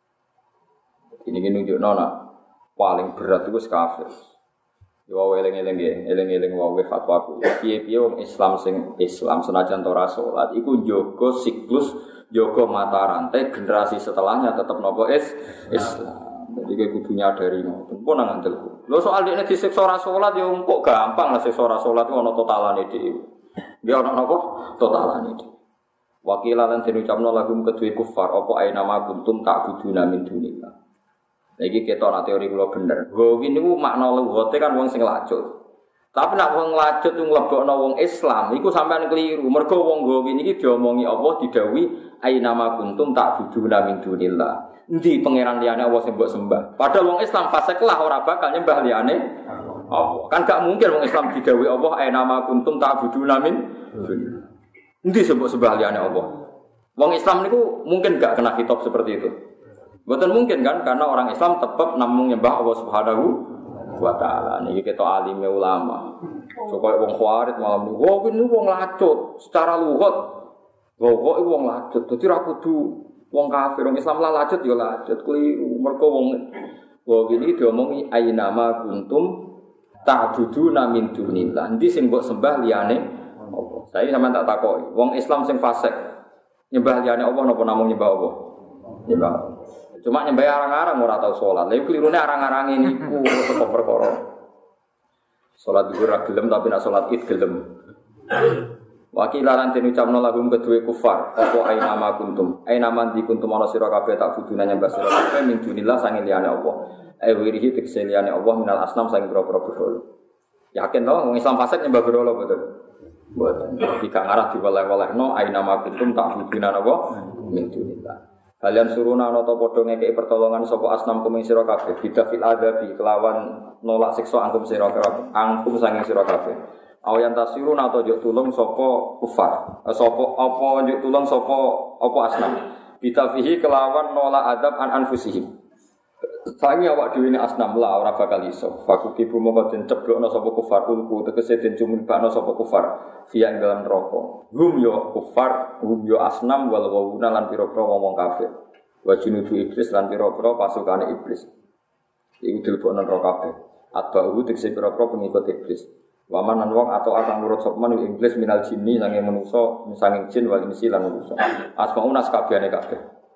Ini nunjukno nak paling berat itu kafir. Ya wae eling-eling wae fatwaku. Piye-piye wong Islam sing Islam senajan ora salat iku njaga siklus, njaga mata rantai generasi setelahnya tetep nopo Islam. Jadi kayak kudu nyadari ngoten. Pun nang ngandel. Lho soal dekne disiksa ora salat ya kok gampang lah siksa ora salat ku ana totalane dhewe. Dia ana napa totalane iki. Wakilan den ucapno lagum kedue kufar apa ae nama kuntum tak buduna min dunillah. Lah iki ketok ana teori kula bener. Gowin niku makna lugate kan wong sing lacut. Tapi nek wong lacut ku mlebokno wong Islam iku sampean keliru. Mergo wong gowin iki diomongi Allah didhawuhi ae nama kuntum tak buduna min dunillah. Endi pangeran liyane Allah sing mbok sembah. Padahal wong Islam fasik lah ora bakal nyembah liyane Allah. Kan gak mungkin wong Islam didhawuhi Allah ae nama kuntum ta'buduna min dunillah. Endi sembah liyane Allah. Wong Islam niku mungkin gak kena kitab seperti itu. Mboten mungkin kan karena orang Islam tetap namung nyembah Allah Subhanahu wa taala. Niki ketok alime ulama. Supaya wong khawarit malam niku wong lacut secara lughat. Kok iku wong lacut. Dadi ra kudu wong kafir, wong Islam lah lacut ya lacut keliru. Mergo wong iki diomongi ainama kuntum ta'buduna min dunillah. Endi sing mbok sembah liyane apa? Saiki sampean tak takoki. Wong Islam sing fasik nyembah liyane apa napa namung nyembah apa? Nyembah. Cuma nyembah arang-arang ora tau salat. Lha klirune arang-arang niku kok perkara. Salat zuhur ra gelem tapi nek salat Id gelem. Wakila lan den ucapno lahum kedue kufar, apa aina ma kuntum. Aina man di kuntum ana sira kabeh tak buduna nyembah sira kabeh min dunillah sange liyane Allah. Wirihi tegese liyane Allah minal asnam sange pira-pira berhala. Yakin to wong Islam fasik nyembah berhala betul. Mboten. Jika ngarah diwaleh-walehno aina ma kuntum tak buduna apa min dunillah. Kalian suruna ana ta padha ngekeki pertolongan sapa asnam kuming sira kabeh bidafil adabi kelawan nolak siksa angkum sira kabeh. Angkum sange sira kabeh. Awayan tasirun atau juk tulung sapa kufar. Sapa apa juk tulung sapa apa asnam. Bitafihi kelawan nolak adab an anfusihim. Sangi awak dhewe ne asnam la ora bakal iso. Fakuki bumoko den ceblokno sapa kufar ulku tegese den cumibakno sapa kufar via ing dalam neraka. Hum yo kufar, hum yo asnam wal wawuna lan pira-pira wong kafir. Wa junudu iblis lan pira-pira pasukane iblis. Iku dilebokno neraka kabeh. Atba'u tegese pira-pira pengikut iblis. Wamanan wong atau akan nurut sopman Inggris minal jinni sange manusa sange jin wal insi lan manusa. Asmaun askabehane kabeh.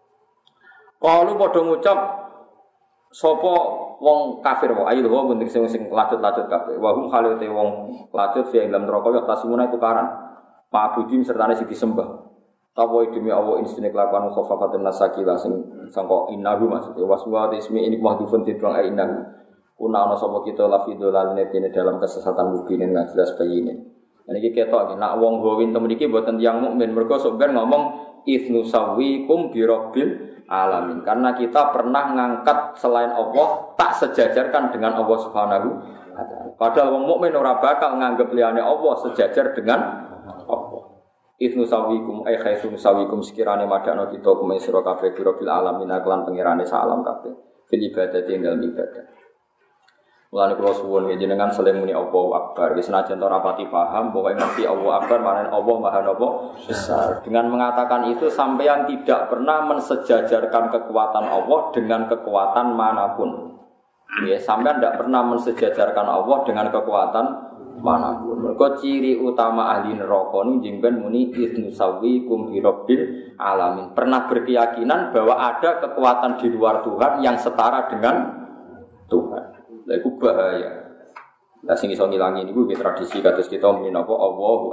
Kalu padha ngucap sapa wong kafir wae ayo wong bentuk sing lacut-lacut kabeh. Wa hum khalate wong lacut fi dalam neraka ya tasimuna tukaran. Ma'budin sertane sing disembah. Tawa demi Allah insine kelakuan khafafatun nasakila sing sangka innahu maksudnya waswa ismi ini mahdhufun tidrong innahu. Kuna ana sapa kita lafido laline dene dalam kesesatan mubinin nggak jelas bayine. Niki ketok nek wong gowin temen iki mboten tiyang mukmin mergo sok ben ngomong ifnu sawikum bi rabbil alamin. Karena kita pernah ngangkat selain Allah tak sejajarkan dengan Allah Subhanahu wa taala. Padahal wong mukmin ora bakal nganggep liyane Allah sejajar dengan Allah. Ifnu sawikum ai khaisun sawikum sekirane madakno kita kumen sira kabeh bi rabbil alamin lan pengirane salam kabeh. Fil ibadah tinggal ibadah. Mulane kula suwun jenengan saling muni Allahu Akbar. Wis senajan ora pati paham, pokoke ngerti Allahu Akbar maknane Allah Maha Besar. Dengan mengatakan itu sampeyan tidak pernah mensejajarkan kekuatan Allah dengan kekuatan manapun. Ya, sampeyan tidak pernah mensejajarkan Allah dengan kekuatan manapun. Mergo ciri utama ahli neraka niku jengben muni iznu sawikum bi rabbil alamin. Pernah berkeyakinan bahwa ada kekuatan di luar Tuhan yang setara dengan Tuhan. Lha iku bahaya. Lah sing iso ngilangi niku nggih tradisi kados kita muni napa Allahu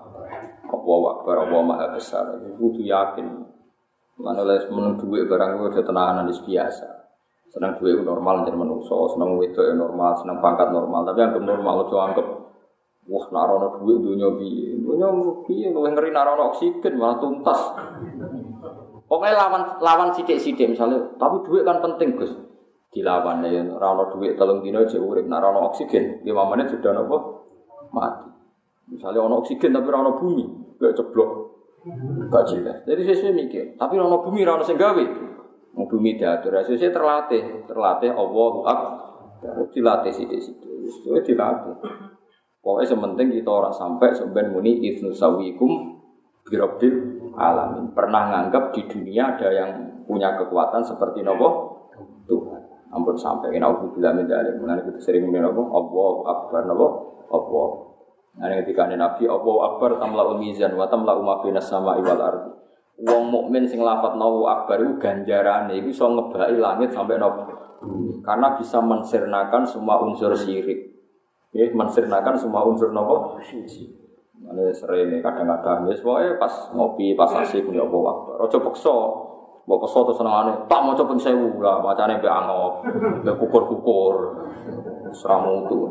Akbar, Allah Maha Besar. Iku kudu yakin. Mana les meneng dhuwit barang kuwi aja tenanan wis biasa. Seneng dhuwit normal jan manungsa, seneng wedok normal, seneng pangkat normal, tapi anggap normal aja anggap wah nek ana dhuwit donya piye. Donya piye luwih ngeri nek ana oksigen malah tuntas. Pokoke lawan sithik-sithik misalnya, tapi dhuwit kan penting, Gus. Dilawan ya ora ono dhuwit 3 dina aja urip, nek ora ono oksigen 5 menit sudah napa mati. Misalnya ono oksigen tapi ora ono bumi, kayak ceblok. Gak jelas. Jadi sesuai mikir, tapi ora ono bumi ora ono sing gawe. Wong bumi diatur, sesuai terlatih Allahu Akbar. Dilatih sithik-sithik. Wis dilatih. Pokoke sementing kita ora sampai sampean muni iznu sawikum bi rabbil alamin. Pernah nganggap di dunia ada yang punya kekuatan seperti napa? Tuhan. Ampun sampai kena aku bilang mendalim, mengenai kita sering mengenai apa? Allahu Akbar, apa? Allah. Nah, ketika Nabi Allahu Akbar tamla'ul mizan wa tamla'u ma bainas sama'i wal ardi. Wong mukmin sing lafadz Allahu Akbar iku ganjarane iku iso ngebaki langit sampai napa? Karena bisa mensirnakan semua unsur syirik. Ya, mensirnakan semua unsur napa? Syirik. Mane sering kadang-kadang wis wae pas ngopi, pas asik muni Allahu Akbar. Aja paksa. Mbok peso to senengane, tak maca ping 1000 lah, macane mbek angop, mbek kukur-kukur. Seramu itu.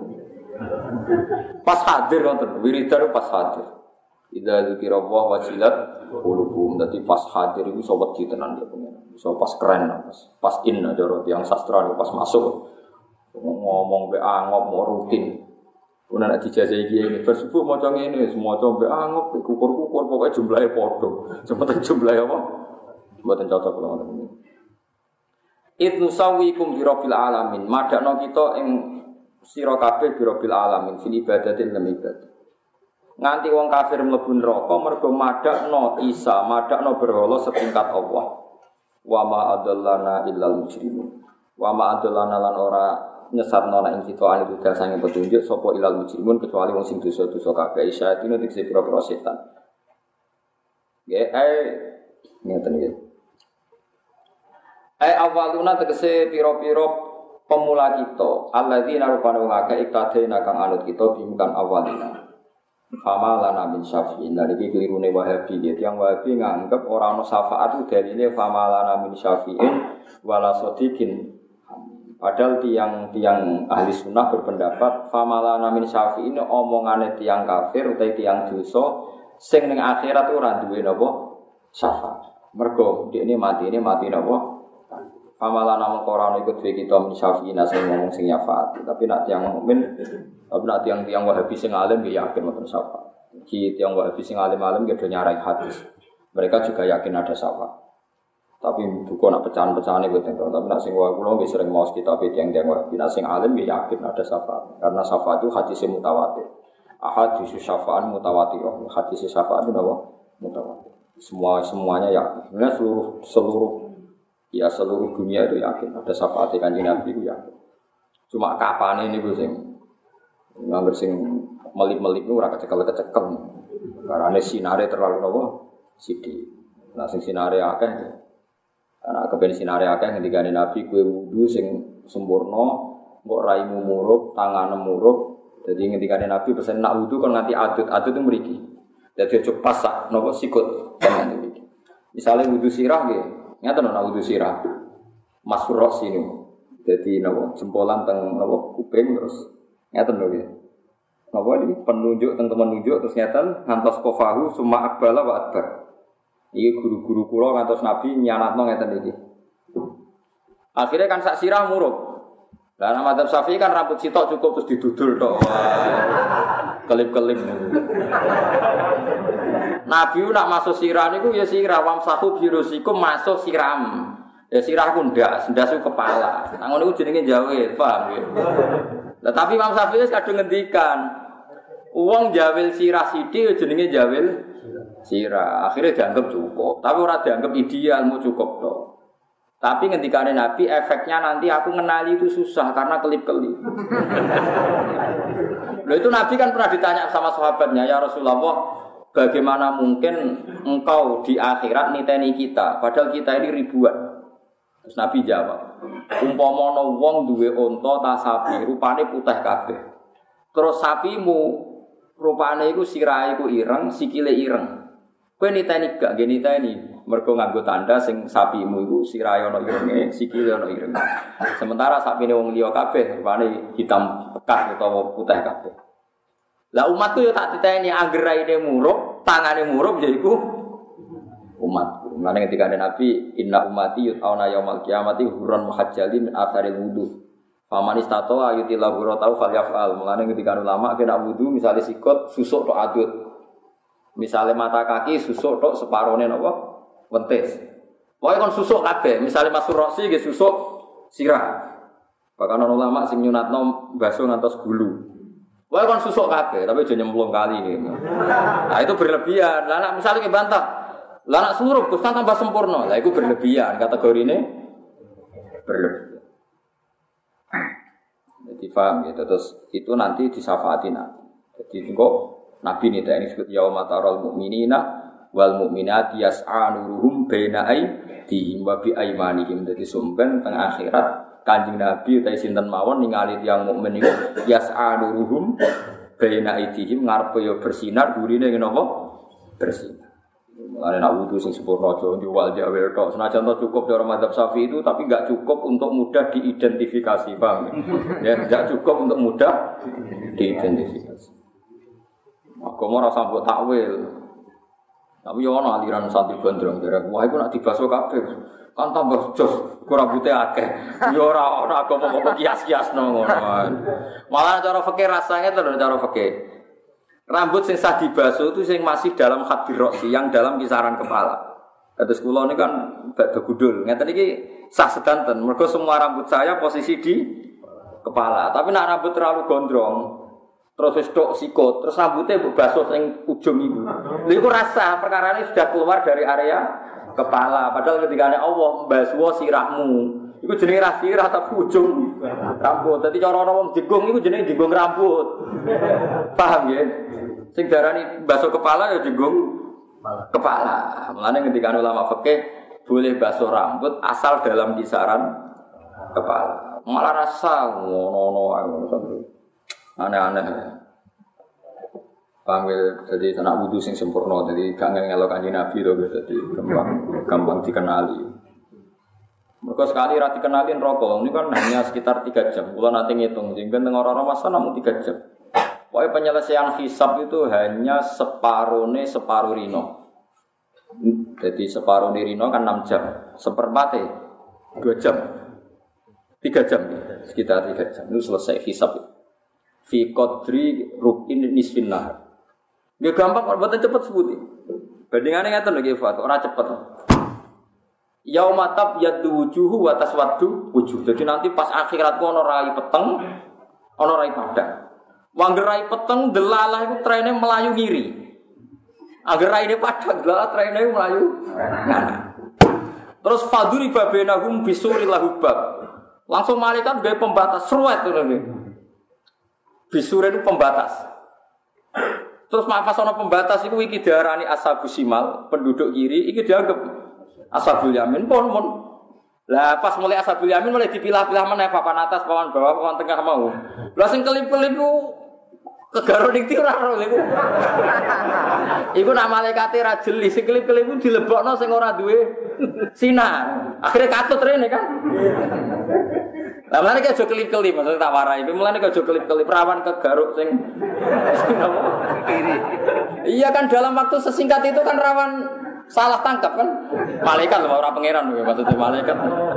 Pas hadir wonten, wiridan pas hadir. Idza dzikra wa wajilat qulubuhum. Dadi pas hadir iku iso wedi tenan ya pengen. Iso pas keren, pas inna cara tiyang sastra pas masuk. Ngomong mbek angop mau rutin. Kuwi nek dijajahi iki ini bersubuh maca ngene, maca mbek angop, kukur-kukur pokoke jumlahe padha. Sementing jumlahe apa? Mboten cocok kula ngoten. Idnu sawikum bi rabbil alamin. Madakno kita ing sira kabeh bi rabbil alamin fil ibadati lan ibadah. Nganti wong kafir mlebu neraka mergo madakno Isa, madakno berhala setingkat Allah. Wa ma adallana illal mujrimun. Wa ma adallana lan ora nyesatno nek kita ali budal sange petunjuk sapa ilal mujrimun kecuali wong sing dosa-dosa kabeh. Isa itu nek dikse pira-pira setan. Ngeten iki. Awaluna tegese pira-pira pemula kita alladzina rupane wong akeh iktadena kang anut kita bimkan awalina Fama lana min syafi'in. Lah iki kelirune Wahabi gitu. Yang Wahabi nganggep ora ono syafaat itu dalile fama lana min syafi'in wala sadiqin. Padahal tiang ahli sunnah berpendapat fama lana min syafi'in omongane tiang kafir utawa tiang dosa sing ning akhirat ora duwe napa syafaat. Mergo dekne mati napa? Fama lana mengkorane iku duwe kita min syafi'in sing ngomong sing syafaat. Tapi nek tiang mukmin tapi nak tiang Wahabi sing alim dia yakin wonten syafaat. Ki tiang Wahabi sing alim-alim dia nyarai hadis. Mereka juga yakin ada syafaat. Tapi bukan nak pecahan-pecahan itu tentu. Tapi nak sing Wahabi kulo nggih sering maos kitab tiang Wahabi. Nak sing alim dia yakin ada syafaat. Karena syafaat itu hadis mutawatir. Ahadits syafaat mutawatir. Hadis syafaat itu apa? Mutawatir. Semuanya yakin. Sebenarnya seluruh dunia itu yakin ada syafaat Kanjeng Nabi itu yakin. Cuma kapan ini Bu sing nganggur sing melip-melip itu ora kecekel-kecekel. Karena sinare terlalu nopo sithik. Nah sing sinare akeh. Ana kepen sinare akeh ngendikane Nabi kowe wudu sing sempurna, mbok raimu murup, tanganmu murup. Jadi ngendikane Nabi pesen nak wudu kon nganti adut itu mriki. Dadi aja pas sak nopo sikut tenan iki. Misale wudu sirah nggih, ngaten ana wudu sirah. Masfur sini. Dadi nopo jempolan teng nopo kuping terus ngeten lho nggih. Napa iki penunjuk teng temen nunjuk terus ngeten ngantos kofahu summa akbala wa adbar. Iki guru-guru kula ngantos Nabi nyanatno ngeten iki. Akhirnya kan sak sirah murup. Lah nang madzhab Syafi'i kan rambut sitok cukup terus didudul tok. Kelip-kelip. Nabi nak masuk sirah niku ya sirah wamsahu birusikum masuk siram. Ya sirah ku ndak, ndas kepala. Nang ngono iku jenenge jawil, paham ya? Nah, tapi Imam Syafi'i kadung ngendikan wong jawil sirah sithik jenenge jawil sirah. Akhirnya dianggap cukup, tapi ora dianggap ideal mau cukup tok. Tapi ngendikane Nabi efeknya nanti aku ngenali itu susah karena kelip-kelip. Loh itu Nabi kan pernah ditanya sama sahabatnya, "Ya Rasulullah, bagaimana mungkin engkau di akhirat niteni kita padahal kita ini ribuan?" Terus Nabi jawab, umpama ana wong duwe unta ta sapi, rupane putih kabeh. Terus sapimu rupane iku sirahe iku ireng, sikile ireng. Kowe niteni gak nggih niteni, mergo nganggo tanda sing sapimu iku sirahe ana irenge, sikile ana ireng. Sementara sapine wong liya kabeh rupane hitam pekat utawa putih kabeh. Lah umatku yo tak titeni angger raine murup, tangane murup ya iku umat. Mulane ketika ada Nabi inna ummati yut'auna yaumal qiyamati hurran muhajjalin min atharil wudu. Faman istata'a yutila hurratau falyaf'al. Mulane ketika ulama kena wudu misale sikut susuk tok adut. Misale mata kaki susuk tok separone napa? Wentis. Pokoke kon susuk kabeh. Misale masuk roksi nggih susuk sirah. Bahkan ana ulama sing nyunatno baso ngantos gulu. Pokoke kon susuk kabeh tapi aja nyemplung kali nggih. Nah itu berlebihan. Lah nek misale bantah lah nak suruh Gus kan tambah sempurna. Lah iku berlebihan, kategorine berlebihan. Jadi paham gitu. Terus itu nanti disyafaati Nabi. Jadi kok Nabi niteni disebut yauma taral mu'minina wal mu'minati yas'a nuruhum baina aydihim wa bi aymanihim. Dadi sumben teng akhirat Kanjeng Nabi utawa sinten mawon ningali tiyang mukmin niku yas'a nuruhum baina aydihim ngarepe yo bersinar gurine ngene apa? Bersinar. Mulane nak wudu sing sempurna aja jual jawel tok. Senajan to cukup cara madzhab Syafi'i itu tapi enggak cukup untuk mudah diidentifikasi, Bang. Ya, enggak cukup untuk mudah diidentifikasi. Agama ora sambut takwil. Tapi yo ana aliran santri gondrong derek. Wah, iku nak dibaso kabeh. Kan tambah jos, ora rambute akeh. Yo ora ana agama kok kias-kiasno ngono. Malah cara fikih rasane terus cara fikih. Rambut sing sah dibaso itu sing masih dalam hadir roksi, yang dalam kisaran kepala. Terus kula ini kan badhe gudul. Ngeten iki sah sedanten. Mergo semua rambut saya posisi di kepala. Tapi nek rambut terlalu gondrong, terus wis tok sikut, terus rambutnya baso sing ujung iku. Lha iku rasa perkara ini sudah keluar dari area kepala. Padahal ketika Allah mbaswa sirahmu, iku jenenge ra sirah tapi ujung rambut. Dadi cara ana wong jenggung iku jenenge jenggung rambut. Paham ya? Sing darani baso kepala ya jenggung kepala. Mulane ketika ulama fikih boleh baso rambut asal dalam kisaran kepala. Malah rasa ngono-ngono aneh-aneh. Paham ya? Jadi anak wudu sing sempurna, jadi gak ngelok Kanjeng Nabi to, jadi gampang dikenali. Mereka sekali ra dikenali rokok, ini kan hanya sekitar 3 jam. Kalau nanti ngitung, sehingga tengah orang masa namun 3 jam. Pokoknya penyelesaian hisab itu hanya separuh rino. Jadi separuh rino kan 6 jam, seperempatnya 2 jam, 3 jam, sekitar 3 jam itu selesai hisab. Fi qadri rubin nisfin nahar. Gak gampang, kalau buatan cepet sebuti. Bandingannya ngeten lagi Fat, orang cepet. Yaumatab yaddu wujuhu wa taswaddu wujuh. Jadi nanti pas akhirat ono rai peteng, ono rai padang. Wangger rai peteng delalah itu trennya melayu ngiri. Angger rai padang delalah trennya melayu nganan. Terus faduri babenahum bisuril lahubab. Langsung malaikat gawe pembatas seruat itu nanti. Bisure itu pembatas. Terus pas ana pembatas iku iki diarani ashabus simal, penduduk kiri iki dianggap ashabul yamin pun. Lah pas mulai ashabul yamin mulai dipilah-pilah meneh papan atas, papan bawah, papan tengah mau. Lah sing kelip-kelip ku kegaro ning ora ro iku. Iku nak malaikate ra jeli, sing kelip-kelip ku dilebokno sing ora duwe sinar. Akhire katut rene kan. Lah mulane aja kelip-kelip, maksud tak warai. Mulane aja kelip-kelip rawan kegaruk sing kiri. Iya kan dalam waktu sesingkat itu kan rawan salah tangkap kan. Malaikat lho ora pangeran maksudnya malaikat.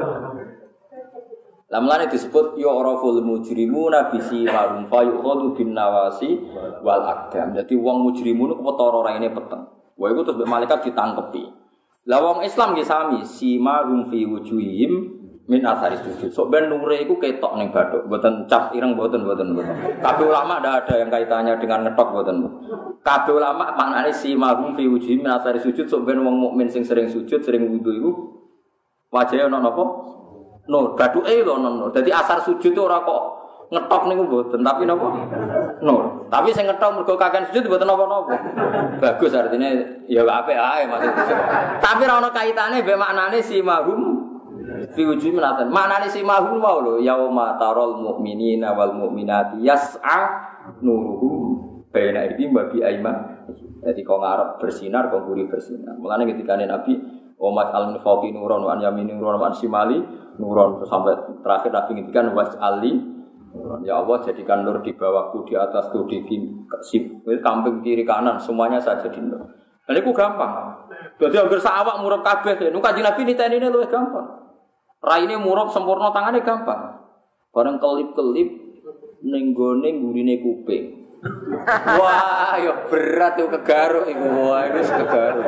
Lah mulane disebut yu'raful mujrimuna bisi marum fa yu'khadhu bin nawasi wal aqdam. Dadi wong mujrimun ku ketara raine peteng. Wah iku terus malaikat ditangkepi. Lah wong Islam nggih sami sima rum fi wujuhihim min athari sujud. Sok ben nure iku ketok ning bathuk, mboten cap ireng mboten. Kabeh ulama ndak ada yang kaitannya dengan ngetok mboten. Kabeh ulama maknane si mahum fi wujuhi min athari sujud, sok ben wong mukmin sing sering sujud, sering wudu iku wajahe ana napa? Nur, bathuke lho ana nur. Dadi asar sujud ora kok ngetok niku mboten, tapi napa? Nur. Tapi sing ngetok mergo kakean sujud mboten napa-napa. Bagus artinya ya apik ae maksudnya. Tapi ora ana kaitane mbek maknane si mahum fi wujuhi minatan. Maknane si mahum wae lho, yauma taral mu'minina wal mu'minati yas'a nuruhum baina aydihim wa bi ayman. Dadi kok ngarep bersinar, kok nguri bersinar. Mulane ketika Nabi umat al-munfaqi nuron wa an yamini nuron wa an shimali nuron sampai terakhir Nabi ngendikan was'ali nuron. Ya Allah jadikan nur di bawahku, di atasku, di kamping kiri kanan semuanya saya jadi nur. Lah niku gampang. Dadi anggere sak awak murub kabeh. Niku Kanjeng Nabi nitenine luwih gampang. Raine murub sempurna tangane gampang. Bareng kelip-kelip ning gone ngurine kuping. Wah, ya berat tuh kegaruk iku. Wah, wis kegaruk.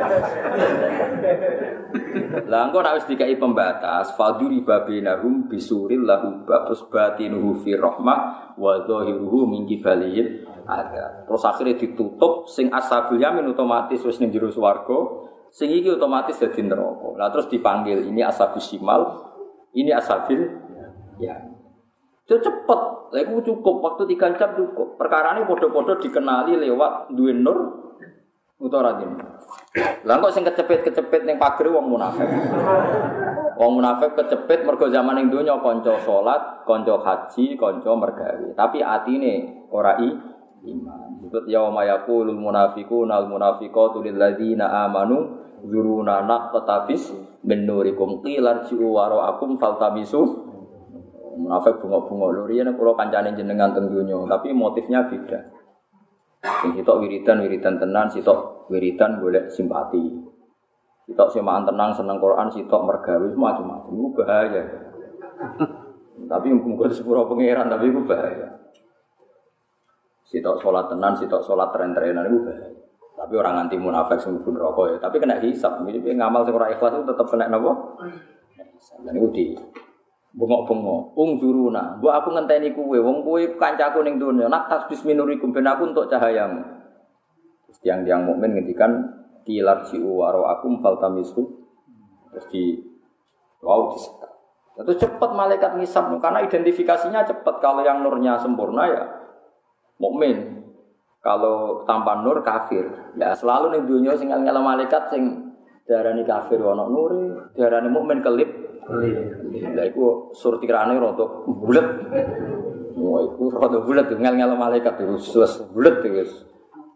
Lah engko nek wis dikai pembatas, faduri babinahum bisuril lahu terus batinuhu fi rahmah wa zahiruhu min qibalil ada. Terus akhirnya ditutup sing ashabul yamin otomatis wis ning jero swarga, sing iki otomatis dadi neraka. Lah terus dipanggil ini ashabus simal, ini ashabil ya. Itu cepet, itu cukup, waktu 3 jam cukup. Perkara ini podo-podo dikenali lewat duwe nur utawa radin. Lah kok sing kecepet-kecepet ning pagere wong munafik. Wong munafik kecepet mergo zaman ning donya kanca salat, kanca haji, kanca mergawe. Tapi atine ora iman. Disebut yauma yaqulul munafiquna wal munafiqatu lil ladzina amanu zuruna naqtabis min nurikum qilarji'u wara'akum faltamisu. Munafik bunga-bunga lho riyen kula kancane jenengan teng donya, tapi motifnya beda. Sing sitok wiridan tenan, sitok wiridan golek simpati. Sitok semaan tenang seneng Quran, sitok mergawe macam-macam. Iku bahaya. Tapi muga sepuro pangeran tapi iku bahaya. Sitok salat tenan, sitok salat tren-trenan iku bahaya. Tapi orang anti munafik sing mlebu neraka ya, tapi kena hisab. Iki ngamal sing ora ikhlas itu tetep kena napa? Hisab. Lan iku di bengok-bengok, ungzuruna. Mbok aku ngenteni kowe, wong kowe kancaku ning donya. Nak tasbis minurikum ben aku untuk cahayamu. Terus tiang-tiang mukmin ngendikan kilarji'u wara'akum faltamisu. Terus disekat. Terus cepat malaikat ngisap karena identifikasinya cepat. Kalau yang nurnya sempurna ya mukmin. Kalau tanpa nur kafir. Ya selalu ning donya sing ngel malaikat sing diarani kafir ana nure, diarani mukmin kelip. Lah iku surtirane rada bulet. Wah iku rada bulet ngel-ngel malaikat terus bulet terus.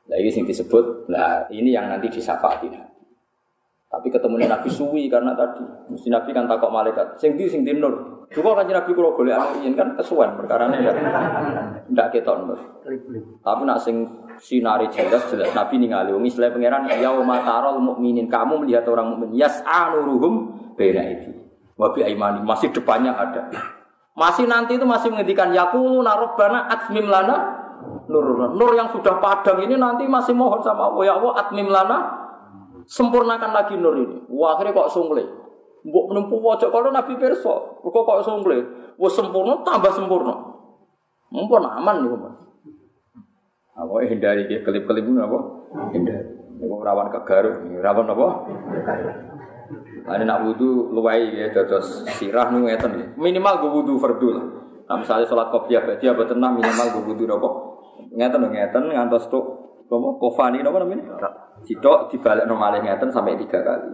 Lah ini sing disebut, lah ini yang nanti disyafaati Nabi. Tapi ketemu Nabi suwi karena tadi mesti Nabi kan takok malaikat, sing di nur. Juga kan Nabi kula golek amin kan kesuwen perkarane ndak ketok nur. Tapi nak sing sinari jelas Nabi ningali wong Islam pangeran yauma tarol mukminin, kamu melihat orang mukmin yas'anuruhum baina itu. Wa bi aimani masih depannya ada. Masih nanti itu masih menghentikan yaquluna rabbana atmim lana nur yang sudah padam ini nanti masih mohon sama Allah, ya Allah atmim lana, sempurnakan lagi nur ini. Wah, akhirnya kok sungle. Mbok menempuh wajah kalau Nabi perso, kok sungle. Wah sempurna tambah sempurna. Mumpun aman niku, Mas. Apa hindari ke kelip-kelip apa? Hindari. Niku rawan kegaruk, rawan apa? Ane nak wudu luwai ya dados sirah nu ngeten nggih. Minimal go wudu fardhu lah. Nah, misalnya salat qobliyah berarti apa tenang minimal go wudu apa? Ngeten ngantos tok apa kofani napa namanya? Sitok dibalekno malih ngeten sampai 3 kali.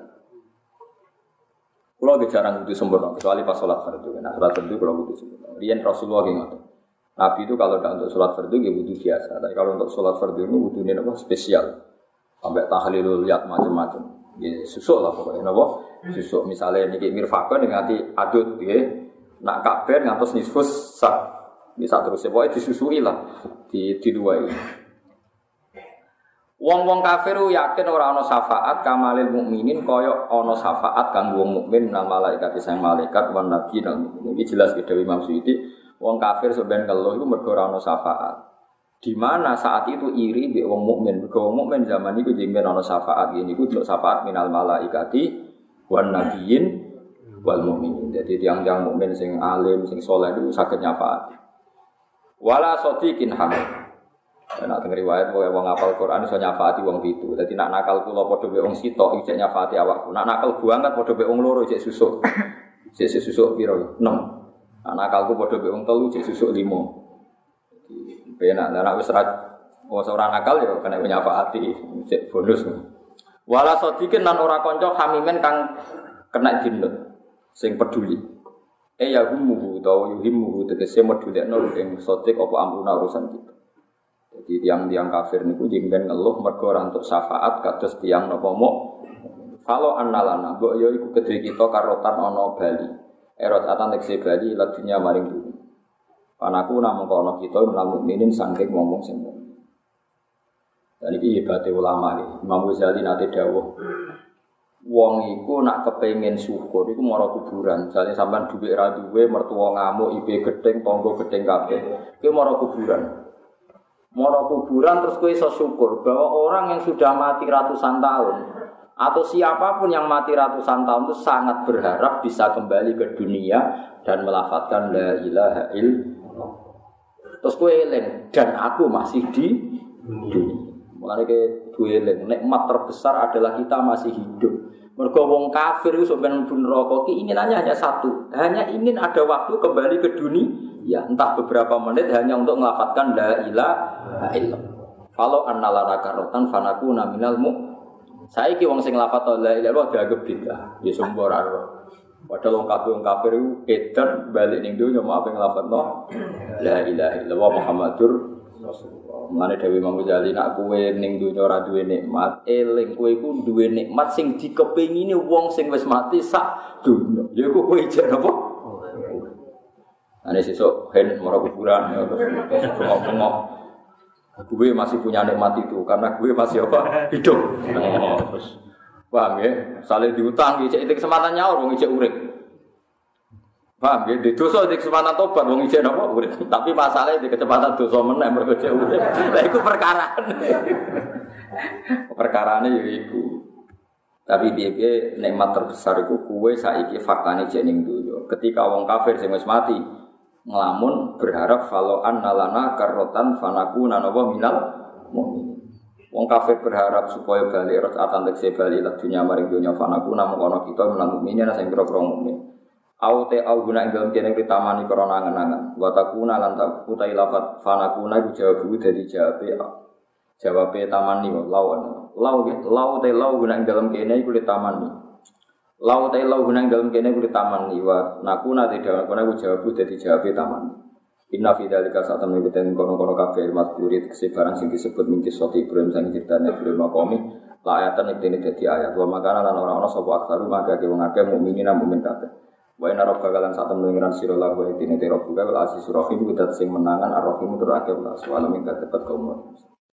Kula ge jarang wudu sempurna kecuali pas salat fardhu. Nah, salat fardhu kula wudu sempurna. Riyen Rasulullah ge ngoten. Nabi itu kalau tidak untuk salat fardhu ge wudu biasa. Tapi kalau untuk salat fardhu itu wudune apa spesial. Sampai tahlilul yat macam-macam. Ya susuk lah pokoknya napa? Susuk misalnya niki mirfaqon nganti adut nggih. Nak kabeh ngantos nisfus sak. Bisa terus pokoke disusui lah, diduwai. Wong-wong kafir yakin ora ana syafaat kamalil mukminin kaya ana syafaat kanggo wong mukmin nang malaikat sang malaikat wan nabi nang iki jelas ke Dewi Imam Suyuti. Wong kafir sampeyan ngeluh iku mergo ora ana syafaat. Di mana saat itu iri mbek wong mukmin. Mergo wong mukmin zaman iku jemben ana syafaat ngene iku syafaat minal malaikati wan nabiyyin wal mukminin. Jadi tiang-tiang mukmin sing alim sing saleh iku saged nyafaat. Wala sadiqin hamid. Nek teng riwayat wong ngapal Quran iso nyafaati wong 7. Dadi nek nakal kula padha mbek wong sitok iki nyafaati awakku. Nek nakal banget padha mbek wong loro cek susuk. Cek susuk piro? 6. Nek nakalku padha mbek wong 3 cek susuk 5. Penak nek wis ora nakal ya kena nyafaati cek bonus. Wala sadiqin lan ora kanca hamimen kang kena dinut sing peduli. Ya humuhu tau yuhimuhu tegese medulekno ing sotik apa amruna urusan kita. Jadi tiang-tiang kafir niku jengben ngeluh mergo ora entuk syafaat kados tiang napa mok. Falo annalana mbok ya iku kedhe kita karotan ana bali. Erot atan tekse bali ladunya maring dunya. Panaku namung ana kita menawa mukminin saking wong-wong sing mukmin. Dan iki hebate ulama iki. Imam Ghazali nate dawuh wong iku nak kepengin syukur iku mara kuburan. Jane sampean dhuwit ra duwe, mertua ngamuk, ipe gedeng, tangga gedeng kabeh. Kuwi mara kuburan. Mara kuburan terus kowe iso syukur bahwa orang yang sudah mati ratusan tahun atau siapapun yang mati ratusan tahun itu sangat berharap bisa kembali ke dunia dan melafadzkan la ilaha illallah. Terus kowe eling dan aku masih di dunia. Mulane ke duwe eling nikmat terbesar adalah kita masih hidup. Mergo wong kafir itu sampeyan mlebu neraka keinginannya hanya satu, hanya ingin ada waktu kembali ke dunia, ya entah beberapa menit hanya untuk melafadzkan la ilaha illallah. Kalau annalana karotan fanakuna minal mu. Saiki wong sing lafadz la ilaha illallah dianggap bidah, ya sumber aro. Padahal wong kafir itu edan balik ning dunya mau apa nglafadzno la ilaha illallah Muhammadur Rasulullah. Mulane Dewi Imam Ghazali nak kowe ning donya ora duwe nikmat, eling kowe iku duwe nikmat sing dikepengine wong sing wis mati sak donya. Ya iku kowe ijek napa? Ane sesuk hen mara kuburan ya bengok-bengok. Kowe masih punya nikmat itu karena kowe masih apa? Hidup. Terus paham ya? Sale diutang ijek kesempatan nyaur wong ijek urip. Paham ya? Di dosa di kesempatan tobat wong ijek napa urip. Tapi masalahnya di kecepatan dosa meneh mergo ijek urip. Lah iku perkarane. Perkarane ya iku. Tapi piye-piye nikmat terbesar iku kowe saiki faktane jek ning donya. Ketika wong kafir sing wis mati ngelamun berharap falo annalana karotan fanakuna napa minal mukminin. Wong kafir berharap supaya bali rakaatan tekse bali lan dunya maring dunya fanakuna mung kita menang mukminin sing kira-kira mukmin. Aute au guna ing dalem kene kritamani krana angen-angen wa takuna lan utai lafat fanakuna iku jawab dari jawabe tamani lawan lau te lau guna ing dalem kene iku tamani lau te lau guna ing dalem kene iku tamani wa nakuna te dalem kono iku jawab dari jawabe tamani Inna fi dzalika sa'atan mengikuti kono-kono kabeh mazkuri tegese barang sing disebut min kisati Ibrahim sang critane Ibrahim maqami la ayatan iki dadi ayat wa makana lan ora ana sapa aksaru maka wong akeh mukminin mukmin kabeh wa inna rabbaka lan sa'atan mengiran sira la wa dine te rabbuka wal asisur rahim kudat sing menangan ar-rahim tur akeh wala alamin katepat kaum